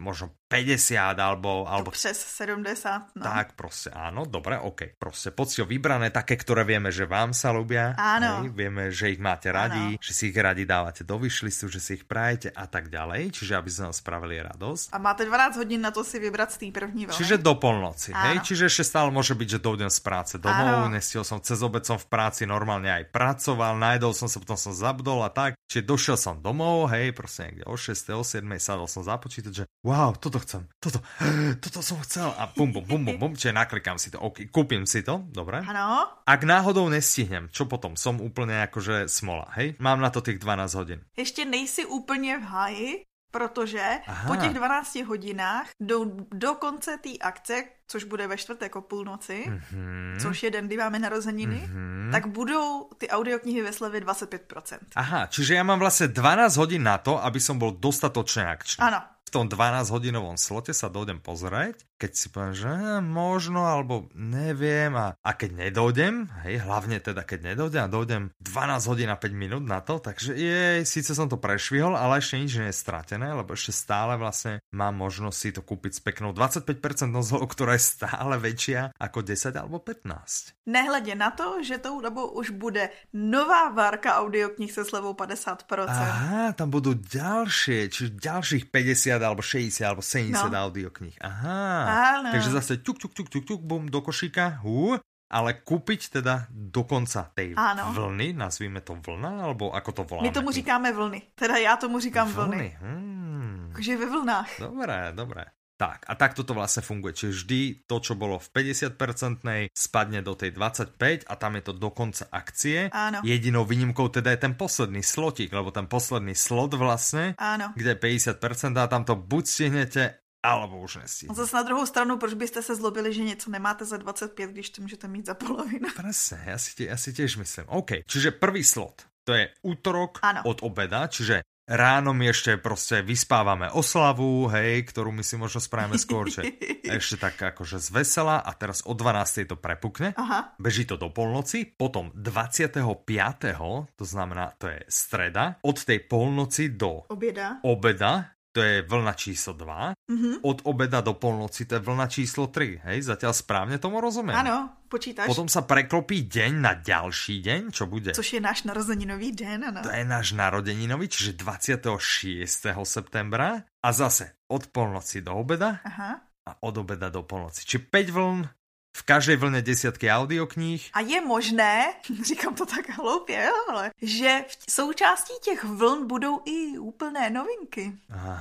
päťdesiat alebo... alebo... To přes sedemdesiat, no. Tak, proste, áno, dobre, ok. Proste poctivo vybrané, také, ktoré vieme, že vám sa ľúbia. Áno. Hej, vieme, že ich máte radi, áno. že si ich radi dávate do wishlistu, že si ich prajete a tak ďalej. Čiže aby sme vám spravili radosť. A máte dvanásť hodín na to si vybrať z té první vlny. Čiže do polnoci, áno. hej? Čiže ešte stále môže byť, že dojdem z práce domov, nestiel som cez obed, som v práci normálne aj pracoval, najedol som sa, potom som zabudol a tak. Čiže došiel som domov, hej, proste niekde o šiestej, o siedmej sadol som za počítač, že wow, toto chcem, toto, toto som chcel a bum, bum, bum, bum, bum, čiže naklikám si to, ok, kúpim si to, dobre. Áno. Ak náhodou nestihnem, čo potom? Som úplne akože smola, hej? Mám na to tých dvanásť hodín. Ještě nejsi úplně v háji, protože Aha. po těch dvanácti hodinách do, do konce té akce, což bude ve čtvrtek o půlnoci, mm-hmm. což je den, kdy máme narozeniny, mm-hmm. tak budou ty audioknihy ve slevě dvacet pět procent. Aha, čiže ja mám vlastne dvanásť hodín na to, aby som bol dostatočne akčný. Áno. V tom dvanásťhodinovom slote sa dojdem pozrieť, keď si poviem, že možno, alebo neviem a, a keď nedojdem, hej, hlavne teda keď nedojdem a dojdem dvanásť hodín a päť minút na to, takže jej, síce som to prešvihol, ale ešte nič nie je stratené, lebo ešte stále vlastne mám možnosť si to kúpiť s peknou dvadsaťpäť percent zlou, ktorá je stále väčšia ako desať alebo pätnásť. Nehledě na to, že tou dobou už bude nová várka audioknih se slevou padesát procent. Aha, tam budú ďalšie, čiže ďalších päťdesiat alebo šesťdesiat alebo sedemdesiat no. audiokníh. Aha. Áno. Takže zase ťuk, ťuk, ťuk, ťuk, ťuk, bum, do košíka, hú, ale kúpiť teda do konca tej Áno. vlny, nazvíme to vlna, alebo ako to voláme? My tomu říkáme vlny, teda já tomu říkám vlny. Vlny, hmm. Takže ve vlnách. Dobré, dobré. Tak, a takto to vlastne funguje. Čiže vždy to, čo bolo v päťdesiat percent spadne do tej dvadsaťpäť a tam je to do konca akcie. Áno. Jedinou výnimkou teda je ten posledný slotík, lebo ten posledný slot vlastne, Áno. kde je päťdesiat percent a tam to buď stihnete, alebo už nestihnete. Zase na druhou stranu, proč byste se zlobili, že něco nemáte za dvacet pět, když to můžete mít za polovinu? Presne, ja si, ja si tiež myslím. OK, čiže prvý slot, to je útorok Áno. od obeda, čiže ráno my ešte proste vyspávame oslavu, hej, ktorú my si možno spravíme skôr, že ešte tak akože zvesela a teraz o dvanástej to prepukne. Aha. Beží to do polnoci, potom dvadsiateho piateho to znamená, to je streda, od tej polnoci do Oběda. obeda, to je vlna číslo dva, Mm-hmm. od obeda do polnoci to je vlna číslo tri, hej, zatiaľ správne tomu rozumiem. Ano, počítaš. Potom sa preklopí deň na ďalší deň, čo bude? Což je náš narozeninový den, ano. To je náš narodeninový, čiže dvadsiateho šiesteho septembra a zase od polnoci do obeda Aha. a od obeda do polnoci. Čiže päť vln, v každej vlne desiatky audiokníh. A je možné, říkám to tak hloupě, ale že v součástí těch vln budou i úplné novinky.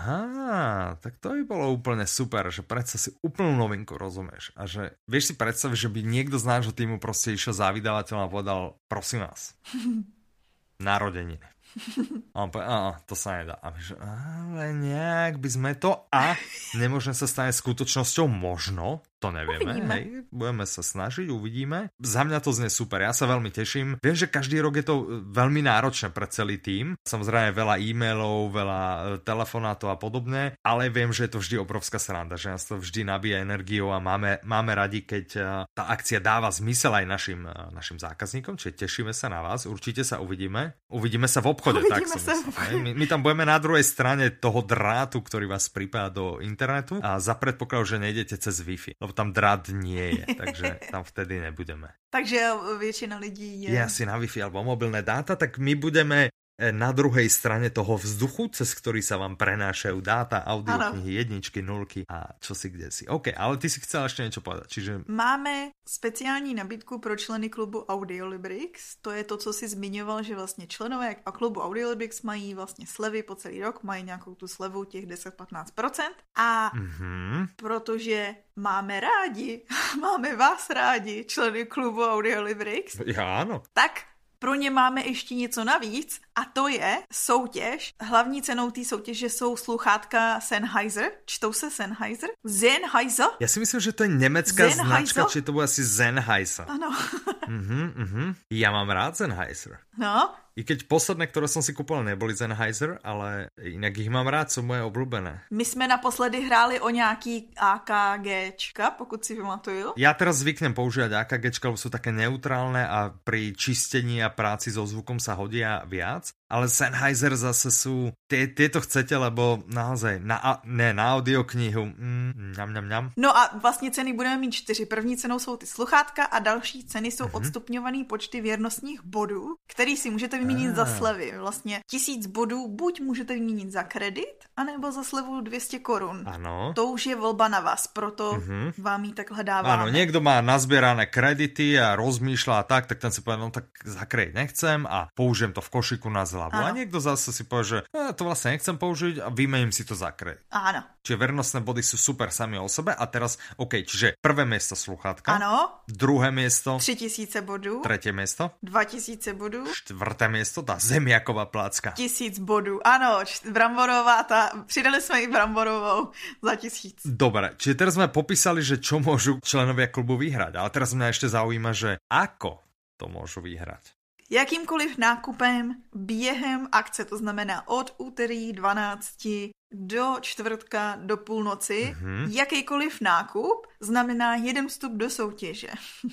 Aha, tak to by bolo úplne super, že predsa si úplnú novinku rozumieš. A že vieš si predstaviť, že by niekto z nášho týmu proste išiel za vydavateľom a povedal, prosím vás, narodeniny. A on povie, á, to sa nedá. A my, že, ale nejak by sme to a nemôžeme sa stane skutočnosťou možno, to nevieme, uvidíme. Hej, budeme sa snažiť, uvidíme. Za mňa to znie super, ja sa veľmi teším. Viem, že každý rok je to veľmi náročné pre celý tím. Samozrejme veľa e-mailov, veľa telefonátov a podobne, ale viem, že je to vždy obrovská sranda, že nás to vždy nabíja energiou a máme, máme radi, keď tá akcia dáva zmysel aj našim, našim zákazníkom, čiže tešíme sa na vás, určite sa uvidíme. Uvidíme sa v obchode, uvidíme tak som sa. myslím. My, my tam budeme na druhej strane toho drátu, ktorý vás pripája do internetu a za predpokladu, že nejdete cez Wi-Fi. Lebo tam drát nie je, takže tam vtedy nebudeme. Takže většina lidí je... Je asi na Wi-Fi alebo mobilné dáta, tak my budeme na druhej strane toho vzduchu, cez ktorý sa vám prenášajú dáta, audioknihy, jedničky, nulky a čo si kde si. OK, ale ty si chcel ešte niečo povedať, čiže... Máme speciální nabídku pro členy klubu Audiolibrix. To je to, co si zmiňoval, že vlastně členové a klubu Audiolibrix mají vlastně slevy po celý rok, mají nějakou tu slevu těch deset až patnáct procent. A mm-hmm. protože máme rádi, máme vás rádi, členy klubu Audiolibrix. Ja, áno. Tak pro ně máme ještě něco navíc a to je soutěž. Hlavní cenou té soutěže jsou sluchátka Sennheiser. Čtou se Sennheiser? Sennheiser? Ja si myslím, že to je nemecká Sennheiser? značka, či to bude asi Sennheiser. Ano. uh-huh, uh-huh. Ja mám rád Sennheiser. No. I keď posledné, ktoré som si kúpil, neboli Sennheiser, ale inak ich mám rád, sú moje obľúbené. My jsme naposledy hráli o nějaký AKGčka, pokud si pamatuju. Ja teraz zvyknem používať AKGčka, lebo sú také neutrálne a pri čistení a práci so zvukom sa hodia viac. ale Sennheiser zase sú, tie, tieto chcete, lebo naozaj, na, ne, na audioknihu, mm, ňam, ňam, ňam. No a vlastně ceny budeme mít čtyři. První cenou jsou ty sluchátka a další ceny jsou mm-hmm. odstupňovaný počty věrnostních bodů, který si můžete vyměnit ah. za slevy. Vlastně tisíc bodů buď můžete vyměnit za kredit, anebo za slevu dvě stě korun. Ano. To už je volba na vás, proto mm-hmm. vám ji takhle dáváme. Áno, niekto má nazbierané kredity a rozmýšľa tak, tak ten si povie, no tak za kredit nechcem a použijem to v košiku na zľavu. A niekto zase si povie, že ja to vlastne nechcem použiť a vymením si to za kredit. Áno. Čiže vernostné body sú super sami o sebe a teraz, OK, čiže prvé miesto sluchátka. Áno. Druhé miesto. tři tisíce bodů. Tretie miesto. dva tisíce bodů. Štvrté miesto, tá zemiaková plácka. Tisíc bodů. Áno, bramborová, tá, přidali sme i bramborovou za tisíc. Dobre, čiže teraz sme popísali, že čo môžu členovia klubu vyhrať, ale teraz mňa ešte zaujíma, že ako to môžu vyhrať. Jakýmkoliv nákupem během akce, to znamená od úterý dvanácti do čtvrtka do půlnoci, mm-hmm. jakýkoliv nákup znamená jeden vstup do soutěže.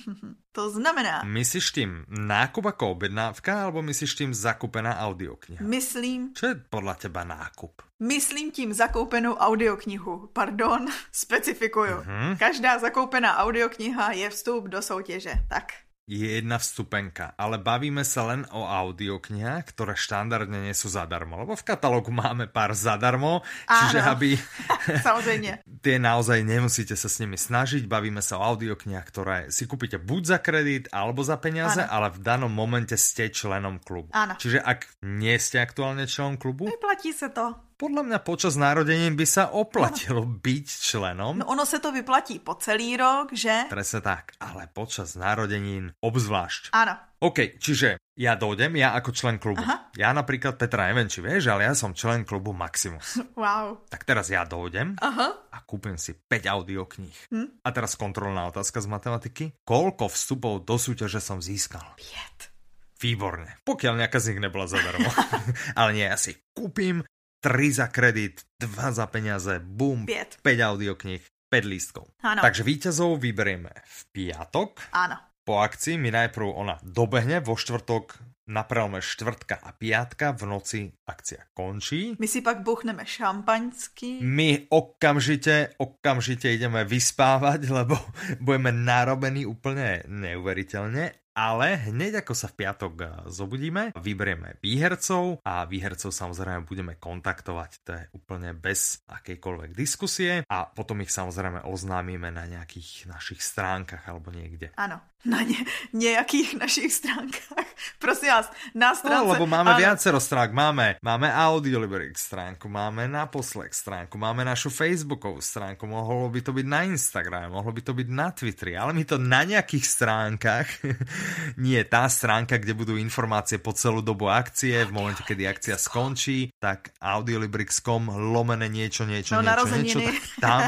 To znamená... Myslíš tým nákup ako objednávka, alebo myslíš tým zakúpená audiokniha? Myslím... Čo je podľa teba nákup? Myslím tím zakoupenou audioknihu. Pardon, specifikuju. Mm-hmm. Každá zakoupená audiokniha je vstup do soutěže. Tak. Je jedna vstupenka, ale bavíme sa len o audioknihách, ktoré štandardne nie sú zadarmo, lebo v katalógu máme pár zadarmo, čiže aby... Samozrejme. Tie naozaj nemusíte sa s nimi snažiť, bavíme sa o audioknihách, ktoré si kúpite buď za kredit, alebo za peniaze, áno. Ale v danom momente ste členom klubu. Áno. Čiže ak nie ste aktuálne členom klubu... Vyplatí sa to. Podľa mňa počas narodenín by sa oplatilo ano. byť členom. No ono sa to vyplatí po celý rok, že? Presne tak, ale počas narodenín obzvlášť. Áno. OK, čiže ja dojdem, ja ako člen klubu. Aha. Ja napríklad, Petra, neviem, či vieš, ale ja som člen klubu Maximus. Wow. Tak teraz ja dojdem Aha. a kúpim si päť audiokníh. Hm? A teraz kontrolná otázka z matematiky. Koľko vstupov do súťaže som získal? päť. Výborne. Pokiaľ nejaká z nich nebola zadarmo. Ale nie, ja si kúpim tri za kredit, dva za peniaze, bum, päť audiokníh, päť lístkov. Áno. Takže víťazov vyberieme v piatok. Áno. Po akcii mi najprv ona dobehne, vo štvrtok na prelome štvrtka a piatka v noci akcia končí. My si pak buchneme šampaňský. My okamžite, okamžite ideme vyspávať, lebo budeme narobení úplne neuveriteľne. Ale hneď ako sa v piatok zobudíme, vyberieme výhercov a výhercov samozrejme budeme kontaktovať. To je úplne bez akejkoľvek diskusie a potom ich samozrejme oznámime na nejakých našich stránkach alebo niekde. Áno, na ne, nejakých našich stránkach. Prosím vás, na stránce... No, lebo máme áno. viacero stránk. Máme, máme Audiolibrix stránku, máme Naposlech stránku, máme našu Facebookovú stránku, mohlo by to byť na Instagrame, mohlo by to byť na Twitteri, ale my to na nejakých stránkach... Nie, tá stránka, kde budú informácie po celú dobu akcie, v momente, kedy akcia skončí, tak audiolibrix bodka com lomene niečo, niečo, no, niečo, niečo, tak tam,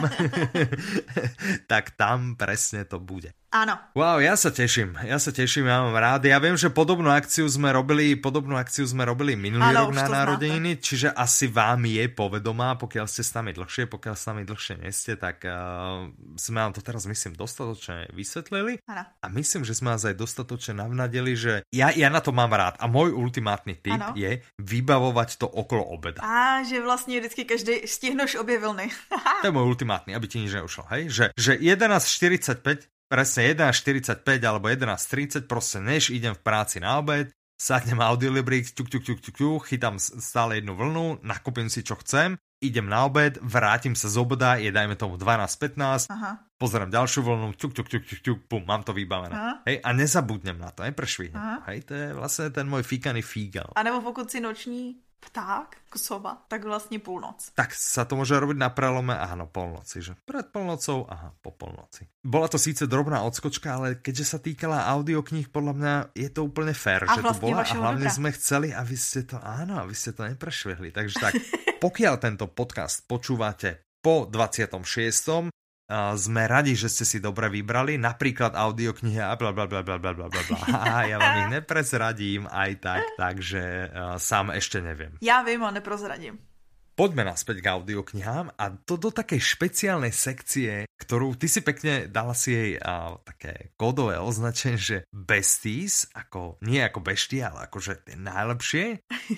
tak tam presne to bude. Áno. Wow, ja sa teším, ja sa teším, ja mám rád. Ja viem, že podobnú akciu sme robili, podobnú akciu sme robili minulý Áno, rok na narodeniny, znáte. Čiže asi vám je povedomá, pokiaľ ste s nami dlhšie, pokiaľ s nami dlhšie nie ste, tak uh, sme vám to teraz, myslím, dostatočne vysvetlili. Áno. A myslím, že sme vás aj dostatočne navnadili, že ja, ja na to mám rád. A môj ultimátny tip ano. je vybavovať to okolo obeda. A že vlastne vždycky každý stihnúš obě vlny. To je môj ultimátny, aby ti nič neušlo, hej? Že, že jedenásť štyridsaťpäť presne jedenásť štyridsaťpäť alebo jedenásť tridsať, proste než idem v práci na obed, sadnem Audiolibrix, ťuk, ťuk, ťuk, ťuk, ťuk, chytám stále jednu vlnu, nakúpim si čo chcem, idem na obed, vrátim sa z obeda, je dajme tomu dvanásť pätnásť, pozerám ďalšiu vlnu, ťuk, ťuk, ťuk, ťuk, ťuk, pum, mám to vybavené. Hej, a nezabudnem na to, neprešvihnem. Hej, to je vlastne ten môj fíkaný fígal. A nebo pokud si noční pták, sova, tak vlastne púlnoc. Tak sa to môže robiť na prelome, áno, polnoci, že pred polnocou, aha, po polnoci. Bola to síce drobná odskočka, ale keďže sa týkala audiokníh, podľa mňa je to úplne fér, a že to bola a hlavne dobra. sme chceli, aby ste to, áno, aby ste to neprešvihli. Takže tak, pokiaľ tento podcast počúvate po dvadsiatom šiestom Uh, sme radi, že ste si dobre vybrali, napríklad audioknihy a blablabla, a ja vám ich neprezradím aj tak, takže uh, sám ešte neviem. Ja viem a neprozradím. Poďme naspäť k audioknihám a to do takej špeciálnej sekcie, ktorú ty si pekne dala si jej uh, také kódové označenie, že besties, ako, nie ako beštie, ale akože tie najlepšie.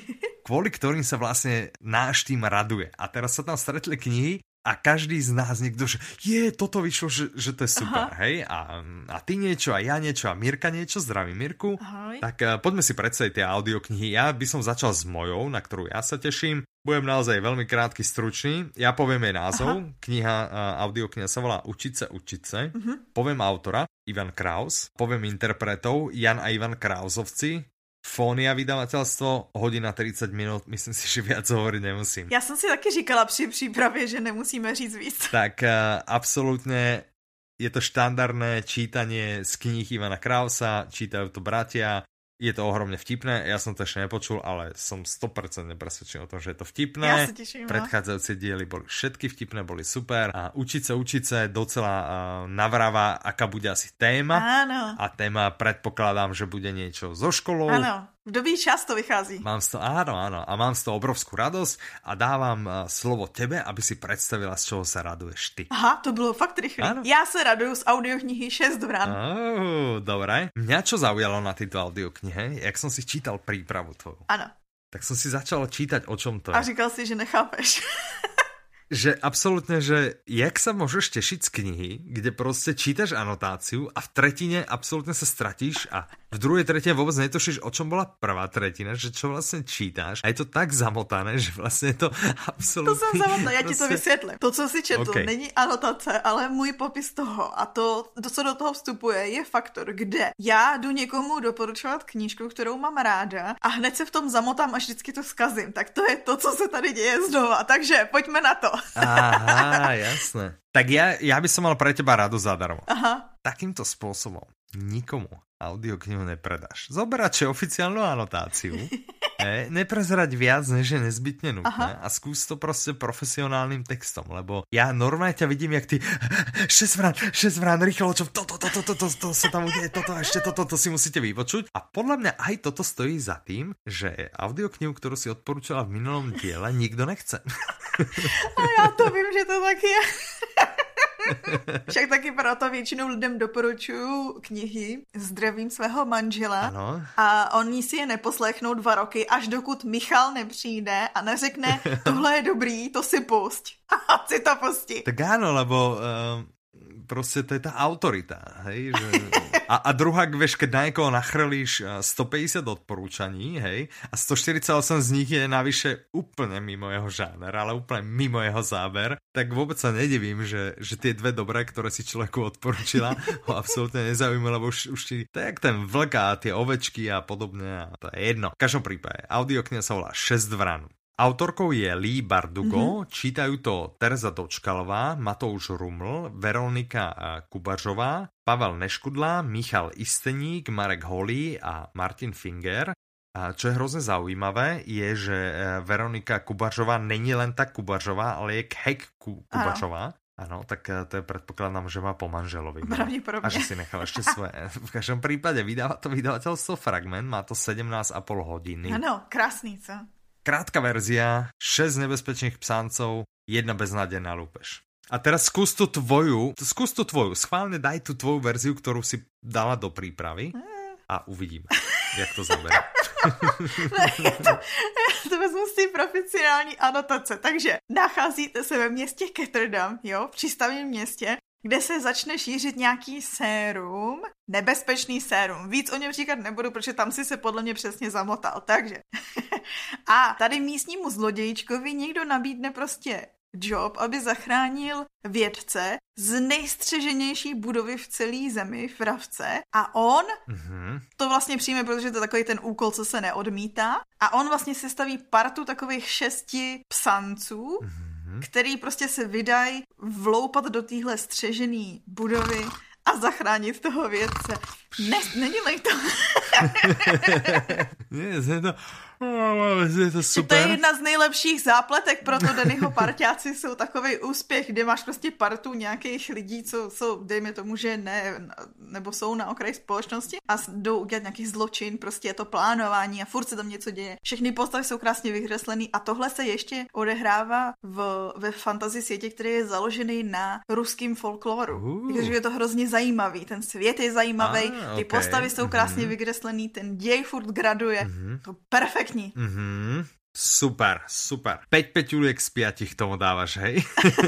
kvôli ktorým sa vlastne náš tým raduje. A teraz sa tam stretli knihy a každý z nás niekto, že je, toto vyšlo, že, že to je super, Aha. hej? A, a ty niečo, a ja niečo, a Mirka niečo, zdravím Mirku. Ahoj. Tak uh, poďme si predstaviť tie audioknihy. Ja by som začal s mojou, na ktorú ja sa teším. Budem naozaj veľmi krátky, stručný. Ja poviem jej názov. Aha. Kniha, uh, audiokniha sa volá Učiť sa, učiť sa. Uh-huh. Poviem autora, Ivan Kraus. Poviem interpretov, Jan a Ivan Krausovci. Fónia vydavateľstvo, hodina tridsať minút, myslím si, že viac hovoriť nemusím. Já jsem si taky říkala při přípravě, že nemusíme říct víc. Tak uh, absolútne je to štandardné čítanie z kníh Ivana Krausa, čítajú to bratia, je to ohromne vtipné, ja som to ešte nepočul, ale som sto percent presvedčený o tom, že je to vtipné. Ja sa teším. Predchádzajúce diely boli všetky vtipné, boli super a učiť sa, učiť sa docela uh, navráva, aká bude asi téma. Áno. A téma predpokladám, že bude niečo so školou. Áno. V dobí čas to vychází. Mám z toho, áno, áno. A mám z toho obrovskú radosť a dávam uh, slovo tebe, aby si predstavila, z čoho sa raduješ ty. Aha, to bylo fakt rýchle. Ja sa raduju z audioknihy šesť vrán. Oh, dobre. Mňa čo zaujalo na tejto audioknihe, jak som si čítal prípravu tvoju. Áno. Tak som si začal čítať, o čom to je. A říkal si, že nechápeš. Že absolútne, že jak sa môžeš tešiť z knihy, kde proste čítaš anotáciu a v tretine absolútne sa stratíš a v druhej tretine vôbec netušíš, o čom bola prvá tretina, že čo vlastne čítáš. A je to tak zamotané, že vlastne je to absolútne... To som zamotané, ja ti to vysvětlím. To, co si četl, okay. Není anotace, ale můj popis toho. A to, to, co do toho vstupuje, je faktor, kde já jdu někomu doporučovat knížku, kterou mám ráda a hned se v tom zamotám a vždycky to zkazím. Tak to je to, co se tady děje znova. Takže pojďme na to. Aha, jasné. Tak ja, ja by som mal pre teba radu zadarmo. Aha. Takýmto spôsobom nikomu audioknihu nepredáš. Zoberať oficiálnu anotáciu, ne, neprezerať viac, než je nezbytne nutné. Aha. A skús to proste profesionálnym textom, lebo ja normálne ťa vidím, jak ty šesť vrán, šesť vrán, rýchlo, čo toto, toto, toto, toto sa tam udeje, toto, ešte toto, to si musíte vypočuť. A podľa mňa aj toto stojí za tým, že audioknihu, ktorú si odporúčala v minulom diele, nikto nechce. A já to vím, že to tak je. Však taky proto většinou lidem doporučuju knihy Zdravím svého manžela. Ano. A oni si je neposlechnou dva roky, až dokud Michal nepřijde a neřekne, tohle je dobrý, to si pusť. A si to pustí. Tak áno, lebo uh, proste to je tá autorita. Hej? Že... A, a druhá, vieš, keď na niekoho nachrlíš stopäťdesiat odporúčaní, hej, a stoštyridsaťosem z nich je navyše úplne mimo jeho žáner, ale úplne mimo jeho záber, tak vôbec sa nedivím, že, že tie dve dobré, ktoré si človeku odporúčila, ho absolútne nezaujíma, lebo už, už ti, to je jak ten vlk a tie ovečky a podobne, a to je jedno. V každom prípade, audiokniha sa volá šesť vrán. Autorkou je Lee Bardugo, mm-hmm. Čítajú to Tereza Dočkalová, Matouš Ruml, Veronika Kubařová, Pavel Neškudla, Michal Isteník, Marek Holý a Martin Finger. A čo je hrozne zaujímavé, je, že Veronika Kubařová není len tak Kubařová, ale je Khek Kubařová. Áno, tak to je predpokladám, že má po manželovi. Pravdepodobne. A že si nechal ešte svoje. V každom prípade vydáva to vydavateľstvo Fragment, má to sedemnásť a pol hodiny. Áno, krásný, co? Krátka verzia, šesť nebezpečných psáncov, jedna beznádejná lúpež. A teraz skús tú tvoju, skús tú tvoju, schválne daj tú tvoju verziu, ktorú si dala do prípravy a uvidíme, jak to zaberá. Ne, to, to vezmu z té profesionální anotace. Takže nacházíte se ve městě Ketterdam, jo, v přístavním městě, kde se začne šířit nějaký sérum, nebezpečný sérum. Víc o něm říkat nebudu, protože tam si se podle mě přesně zamotal. Takže. A tady místnímu zlodějčkovi někdo nabídne prostě job, aby zachránil vědce z nejstřeženější budovy v celé zemi, v Ravce. A on mm-hmm. to vlastně přijme, protože to je takový ten úkol, co se neodmítá. A on vlastně sestaví partu takových šesti psanců, mm-hmm. který prostě se vydají vloupat do téhle střežené budovy a zachránit toho vědce. Ne, nedělej to. Nie, je to... Je to super. To je jedna z nejlepších zápletek, proto Dannyho parťáci jsou takovej úspěch, kde máš prostě partu nějakých lidí, co jsou, dejme tomu, že ne, nebo jsou na okraji společnosti a jdou udělat nějaký zločin, prostě je to plánování a furt se tam něco děje. Všechny postavy jsou krásně vykreslený a tohle se ještě odehrává v, ve fantasy světě, který je založený na ruským folkloru. Uh. Takže je to hrozně zajímavý, ten svět je zajímavý, ah, ty okay. postavy jsou krásně mm-hmm. vykreslený, ten děj furt graduje, mm-hmm. to perfektní. Mm-hmm. Super, super. päť peťuliek z piatich tomu dávaš, hej?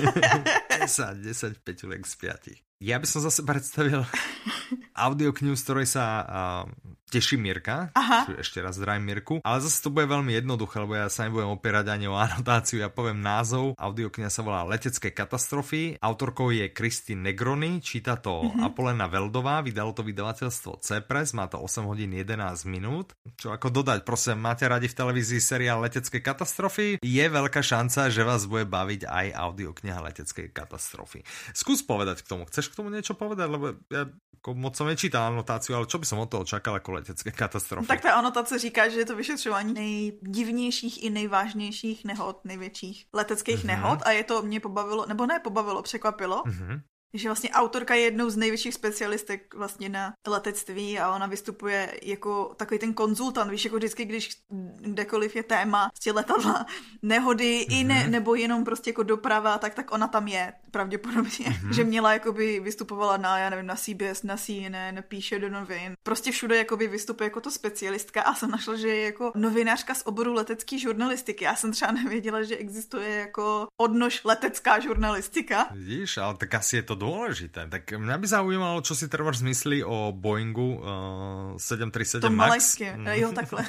desať, desať peťuliek z piatich. Ja by som zase predstavil audioknihu, z ktorej sa uh, teší Mirka. Aha. Ešte raz zdravím Mirku. Ale zase to bude veľmi jednoduché, lebo ja sa nebudem opierať ani o anotáciu. Ja poviem názov. Audiokniha sa volá Letecké katastrofy. Autorkou je Christine Negroni. Číta to mm-hmm. Apolena Veldová. Vydalo to vydavateľstvo C-Press. Má to osem hodín jedenásť minút. Čo ako dodať, prosím, máte radi v televízii seriál Letecké katastrofy? Je veľká šanca, že vás bude baviť aj audiokniha Letecké katastrofy. Skús povedať k tomu. Chceš k tomu niečo povedať? Lebo ja ako moc som nečítal anotáciu, ale čo by som od toho čakal ako letecké katastrofy? Tak ta anotace říká, že je to vyšetřování nejdivnějších i nejvážnějších nehod, největších leteckých mm-hmm. nehod a je to mě pobavilo, nebo ne pobavilo, překvapilo. Mm-hmm. Že vlastně autorka je jednou z největších specialistek vlastně na letectví a ona vystupuje jako takový ten konzultant, víš, jako vždycky, když kdekoliv je téma prostě letadla, nehody mm-hmm. i ne, nebo jenom prostě jako doprava, tak tak ona tam je pravděpodobně, mm-hmm. že měla jakoby vystupovala na, já nevím, na C B S, na C N N, píše do novin, prostě všude jakoby vystupuje jako to specialistka a jsem našla, že je jako novinářka z oboru letecké žurnalistiky. Já jsem třeba nevěděla, že existuje jako odnož letecká žurnalistika. Vidíš, ale tak asi je to dôležité. Tak mňa by zaujímalo, čo si treba zmyslí o Boeingu uh, sedem tri sedem to Max. To malajské, jo, takhle.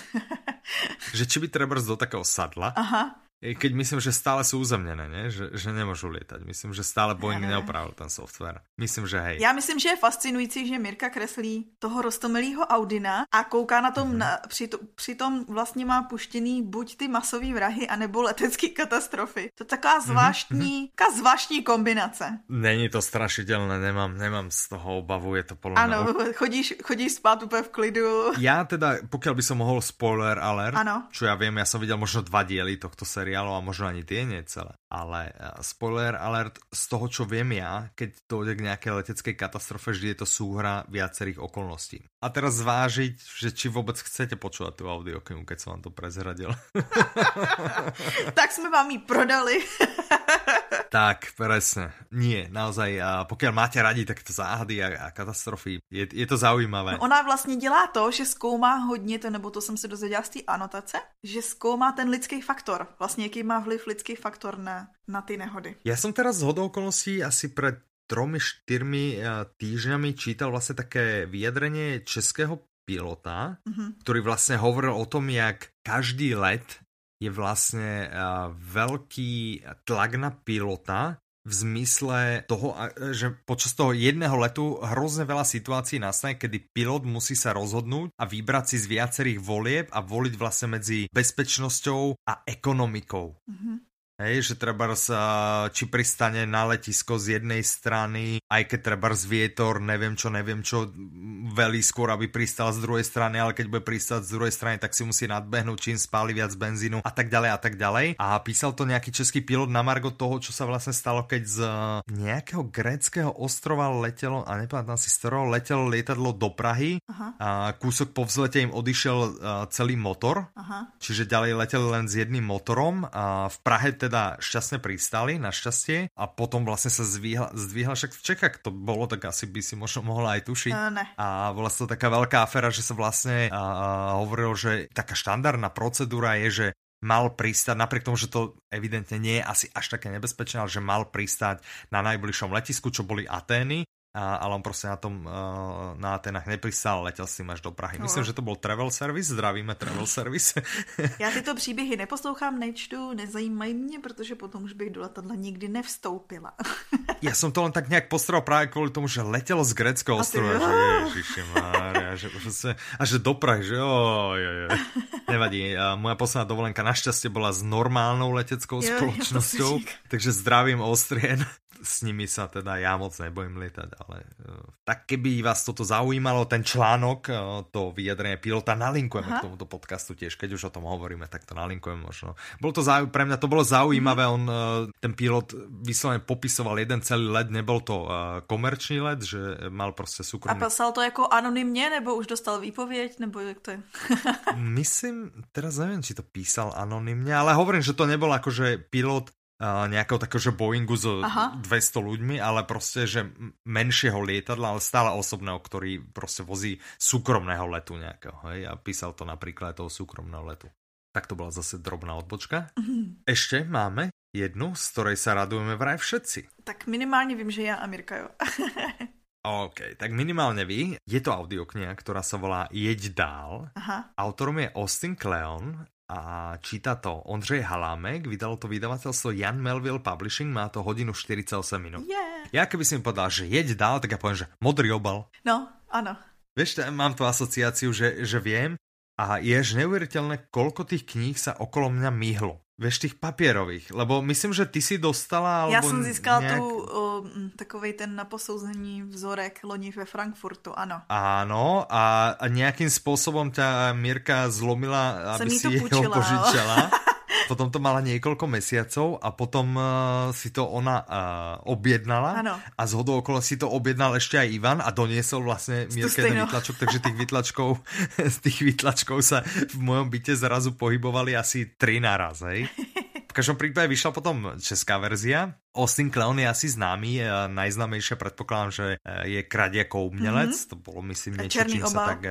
Že či by treba do takého sadla. Aha. Keď myslím, že stále sú uzemnené, ne? Že, že nemôžu lietať. Myslím, že stále Boeing neopravil ten software. Myslím, že hej. Já myslím, že je fascinující, že Mirka kreslí toho roztomilýho Audina a kouká na tom, mm-hmm. na, při to, přitom vlastně má puštěný buď ty masový vrahy, anebo letecký katastrofy. To je taková zvláštní, mm-hmm. taková zvláštní kombinace. Není to strašidelné, nemám, nemám z toho obavu, je to podľa mňa... Ano, chodíš, chodíš spát úplně v klidu. Ja teda, pokiaľ by som mohol spoiler alert, ano. Čo ja viem, ja som videl možno dva diely tohto seriálu a možno ani tie nie celé. Ale spoiler alert, z toho, čo viem ja, keď dojde k nejakej leteckej katastrofe, vždy je to súhra viacerých okolností. A teraz zvážiť, že či vôbec chcete počúvať tú audioknihu, keď som vám to prezradil. Tak sme vám ji prodali. Tak, presne. Nie, naozaj, pokiaľ máte radi takto záhady a, a katastrofy, je, je to zaujímavé. No ona vlastně dělá to, že zkoumá hodně to, nebo to jsem se dozvěděla z té anotace, že zkoumá ten lidský faktor. Vlastně jaký má vliv lidský faktor na, na ty nehody. Ja som teraz z hodou okolností asi pred tromi, štyrmi týždňami čítal vlastne také vyjadrenie českého pilota, mm-hmm. ktorý vlastne hovoril o tom, jak každý let je vlastne uh, veľký tlak na pilota v zmysle toho, že počas toho jedného letu hrozne veľa situácií nastane, kedy pilot musí sa rozhodnúť a vybrať si z viacerých volieb a voliť vlastne medzi bezpečnosťou a ekonomikou. Mm-hmm. Hej, že treba sa, či pristane na letisko z jednej strany, aj keď treba z vietor, neviem čo, neviem čo, velí skôr, aby pristal z druhej strany, ale keď bude pristať z druhej strany, tak si musí nadbehnúť, čím spáli viac benzínu a tak ďalej a tak ďalej. A písal to nejaký český pilot na margo toho, čo sa vlastne stalo, keď z nejakého gréckeho ostrova letelo, a nepamätám si z ktorého, letelo lietadlo do Prahy. Aha. A kúsok po vzlete im odišiel celý motor. Aha. Čiže ďalej leteli len s jedným motorom. A v Prahe teda šťastne pristali, našťastie, a potom vlastne sa zdvihla, zdvihla však v Čechách to bolo, tak asi by si možno mohla aj tušiť. Uh, ne. A bola to taká veľká aféra, že sa vlastne uh, hovorilo, že taká štandardná procedúra je, že mal pristať, napriek tomu, že to evidentne nie je asi až také nebezpečné, ale že mal pristať na najbližšom letisku, čo boli Atény. A, ale on proste na tom uh, na Atenách nepristal, letěl s tím až do Prahy. Myslím, no. že to byl Travel Service, zdravíme Travel Service. Já tyto příběhy neposlouchám, nečtu, nezajímají mě, protože potom už bych do letadla nikdy nevstoupila. Ja som to len tak nejak postral práve kvôli tomu, že letelo z gréckeho ostrova, že ježišimária, že proste, a že do Prahy, že oj, oj, oj. Nevadí, a moja posledná dovolenka našťastie bola s normálnou leteckou jo, spoločnosťou, takže zdravím Austrian. S nimi sa teda ja moc nebojím lietať, ale uh, tak keby vás toto zaujímalo, ten článok, uh, to vyjadrenie pilota, nalinkujeme Aha. k tomuto podcastu tiež, keď už o tom hovoríme, tak to nalinkujeme možno. Bolo to zau... pre mňa to bolo zaujímavé, on, uh, ten pilot vyslovene popisoval jeden celý let, nebol to uh, komerčný let, že mal proste súkromný. A písal to jako anonymně, nebo už dostal výpověď, nebo jak to je? Myslím, teraz neviem, či to písal anonymne, ale hovorím, že to nebol akože pilot Uh, nejakého takého, že Boeingu so Aha. dvesto ľuďmi, ale proste, že menšieho lietadla, ale stále osobného, ktorý proste vozí súkromného letu nejakého, hej, a písal to napríklad toho súkromného letu. Tak to bola zase drobná odbočka. Mm-hmm. Ešte máme jednu, z ktorej sa radujeme vraj všetci. Tak minimálne vím, že ja a Mirka, jo. OK, tak minimálne vy. Je to audiokniha, ktorá sa volá Jeď dál. Aha. Autorom je Austin Kleon a číta to Ondřej Halámek. Vydalo to vydavateľstvo Jan Melville Publishing. Má to hodinu štyridsaťosem minút. Yeah. Ja keby si mi povedal, že jeď dál, tak ja poviem, že modrý obal. No, áno. Vieš, mám tu asociáciu, že, že viem a je až neuveriteľné, koľko tých kníh sa okolo mňa myhlo. Vieš, tých papierových, lebo myslím, že ty si dostala... Já jsem získala nejak... tu uh, takovej ten na posouzení vzorek loni ve Frankfurtu, ano. Áno, a, a nejakým spôsobom ťa Mirka zlomila, aby si jeho požičala. Potom to mala niekoľko mesiacov a potom uh, si to ona uh, objednala. Ano. A zhodou okolo si to objednal ešte aj Ivan a doniesol vlastne Mirke ten výtlačok, takže tých výtlačkov, z tých výtlačkov sa v mojom byte zrazu pohybovali asi tri naraz, hej. V každom prípade vyšla potom česká verzia. Austin Kleon je asi známy, najznámejšia, predpokladám, že je Kradiakov umelec. Mm-hmm. To bolo, myslím, niečo, čím obal. Sa tak...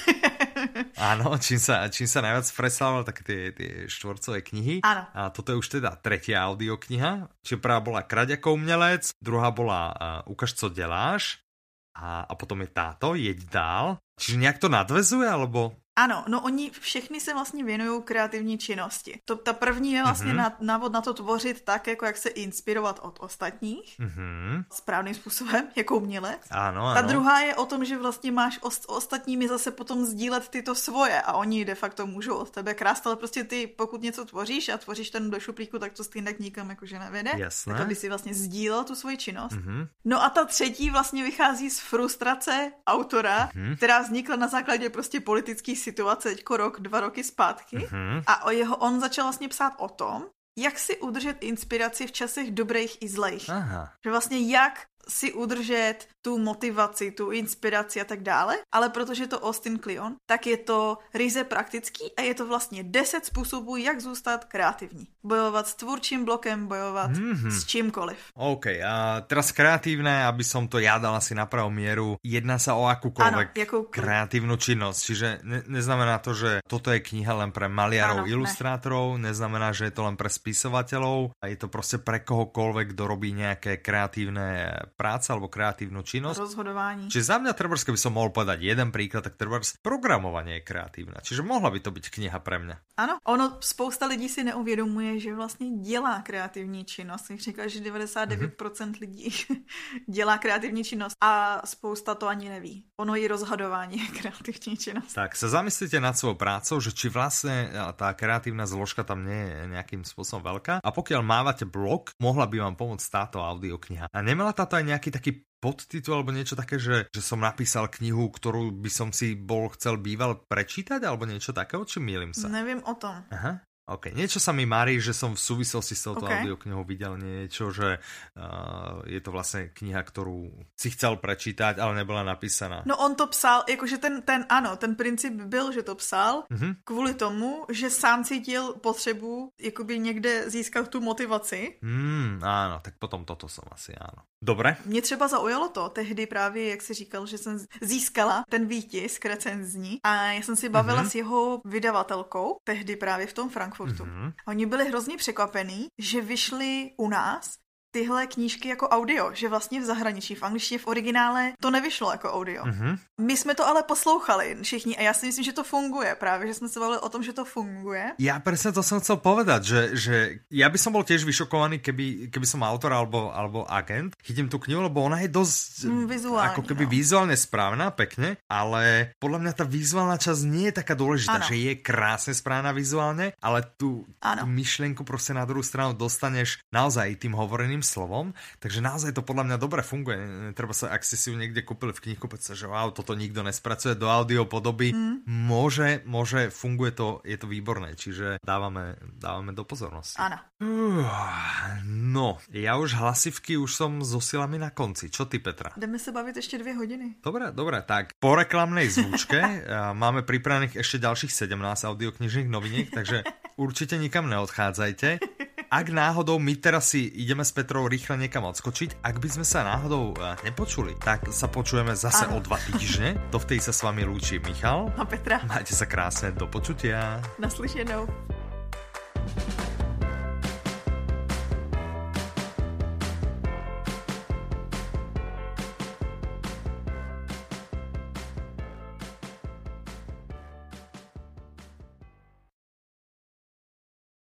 Áno, čím sa, čím sa najviac predstavoval, tak tie, tie štvorcové knihy. Áno. A toto je už teda tretia audiokniha. Čiže prvá bola Kradiakov umelec, druhá bola uh, Ukaž, co deláš a, a potom je táto, Jeď dál. Čiže nejak to nadvezuje, alebo... Ano, no oni všechny se vlastně věnují kreativní činnosti. To, ta první je vlastně mm-hmm. návod na to tvořit tak, jako jak se inspirovat od ostatních. Mm-hmm. Správným způsobem, jako umělec. Ano, ano. Ta druhá je o tom, že vlastně máš o, ostatními zase potom sdílet tyto svoje a oni de facto můžou od tebe krást, ale prostě ty, pokud něco tvoříš a tvoříš ten do šuplíku, tak to stejně nikam jakože nevede. Jasné. Tak aby si vlastně sdílel tu svoji činnost. Mm-hmm. No a ta třetí vlastně vychází z frustrace autora, mm-hmm. která vznikla na základě prostě politických situace teďko rok, dva roky zpátky. Mm-hmm. A o jeho, on začal vlastně psát o tom, jak si udržet inspiraci v časech dobrých i zlejch. Aha. Že vlastně jak si udržet tu motivaci, tu inspiraci a tak dále, ale protože je to Austin Kleon, tak je to ryze praktický a je to vlastně deset způsobů, jak zůstat kreativní. Bojovat s tvůrčím blokem, bojovat mm-hmm. s čímkoliv. OK, a teraz kreatívne, aby som to ja dal asi na pravú mieru, jedná sa o akúkoľvek ano, kreatívnu činnosť, čiže ne, neznamená to, že toto je kniha len pre maliarov, ano, ilustrátorov, ne. Neznamená, že je to len pre spisovateľov, a je to proste pre kohokoľvek, kto robí nejaké kreatívne práce alebo kreatívnu činnosť. Rozhodování. Čiže za mňa trebárs, keby som mohol povedať jeden príklad, tak trebárs programovanie je kreatívne. Čiže mohla by to byť kniha pre mňa. Ano, ono spousta lidí si neuvědomuje, že vlastně dělá kreativní činnost. Jak říkal, že devadesát devět procent mm-hmm. lidí dělá kreativní činnost a spousta to ani neví. Ono je rozhodování je kreativní činnost. Tak sa zamyslite nad svojou prácou, že či vlastne tá kreatívna zložka tam nie je nejakým spôsobom veľká. A pokiaľ mávate blog, mohla by vám pomôcť táto audiokniha. A nemala táto aj nejaký taký podtitul alebo niečo také, že, že som napísal knihu, ktorú by som si bol chcel býval prečítať alebo niečo takého, či mýlim sa? Neviem o tom. Aha. OK, niečo sa mi marí, že som v súvislosti s touto okay. audioknihou videl niečo, že uh, je to vlastne kniha, ktorú si chcel prečítať, ale nebola napísaná. No on to psal, jakože ten, ten ano, ten princip byl, že to psal mm-hmm. kvůli tomu, že sám cítil potřebu jakoby někde získat tu motivaci. Mm, áno, tak potom toto som asi, áno. Dobre. Mě třeba zaujalo to tehdy právě, jak si říkal, že jsem získala ten výtisk recenzní a já jsem si bavila mm-hmm. s jeho vydavatelkou, tehdy právě v tom Frankfurtu. Mm-hmm. Oni byli hrozně překvapení, že vyšly u nás tyhle knížky jako audio, že vlastně v zahraničí, v angličtině v originále to nevyšlo jako audio. Mm-hmm. My jsme to ale poslouchali všichni a já si myslím, že to funguje právě, že jsme se bavili o tom, že to funguje. Ja presne to som chcel povedať, že, že ja by som bol tiež vyšokovaný, keby, keby som autor alebo, alebo agent. Chytím tú knihu, lebo ona je dosť mm, vizuálne, ako keby no. vizuálne správna, pekne, ale podľa mňa tá vizuálna časť nie je taká dôležitá, ano. Že je krásne správna vizuálne, ale tú, tú myšlienku proste na druhú stranu dostaneš naozaj tým hovoreným slovom, takže naozaj to podľa mňa dobre funguje. Treba sa, ak ste si ju niekde kúpili v knihkupectve, že wow, toto nikto nespracuje do audio podoby, mm. môže, môže, funguje to, je to výborné, čiže dávame, dávame do pozornosti. Áno. Uh, no, ja už hlasivky už som so silami na konci. Čo ty, Petra? Jdeme sa baviť ešte dve hodiny. Dobre, dobre, tak po reklamnej zvučke máme pripravených ešte ďalších sedemnásť audioknižných noviniek, takže určite nikam neodchádzajte. Ak náhodou my teraz si ideme s Petrou rýchle niekam odskočiť, ak by sme sa náhodou nepočuli, tak sa počujeme zase ano. o dva týždne. Dovtedy sa s vami lúči Michal a Petra. Majte sa krásne, do počutia. Naslyšenou.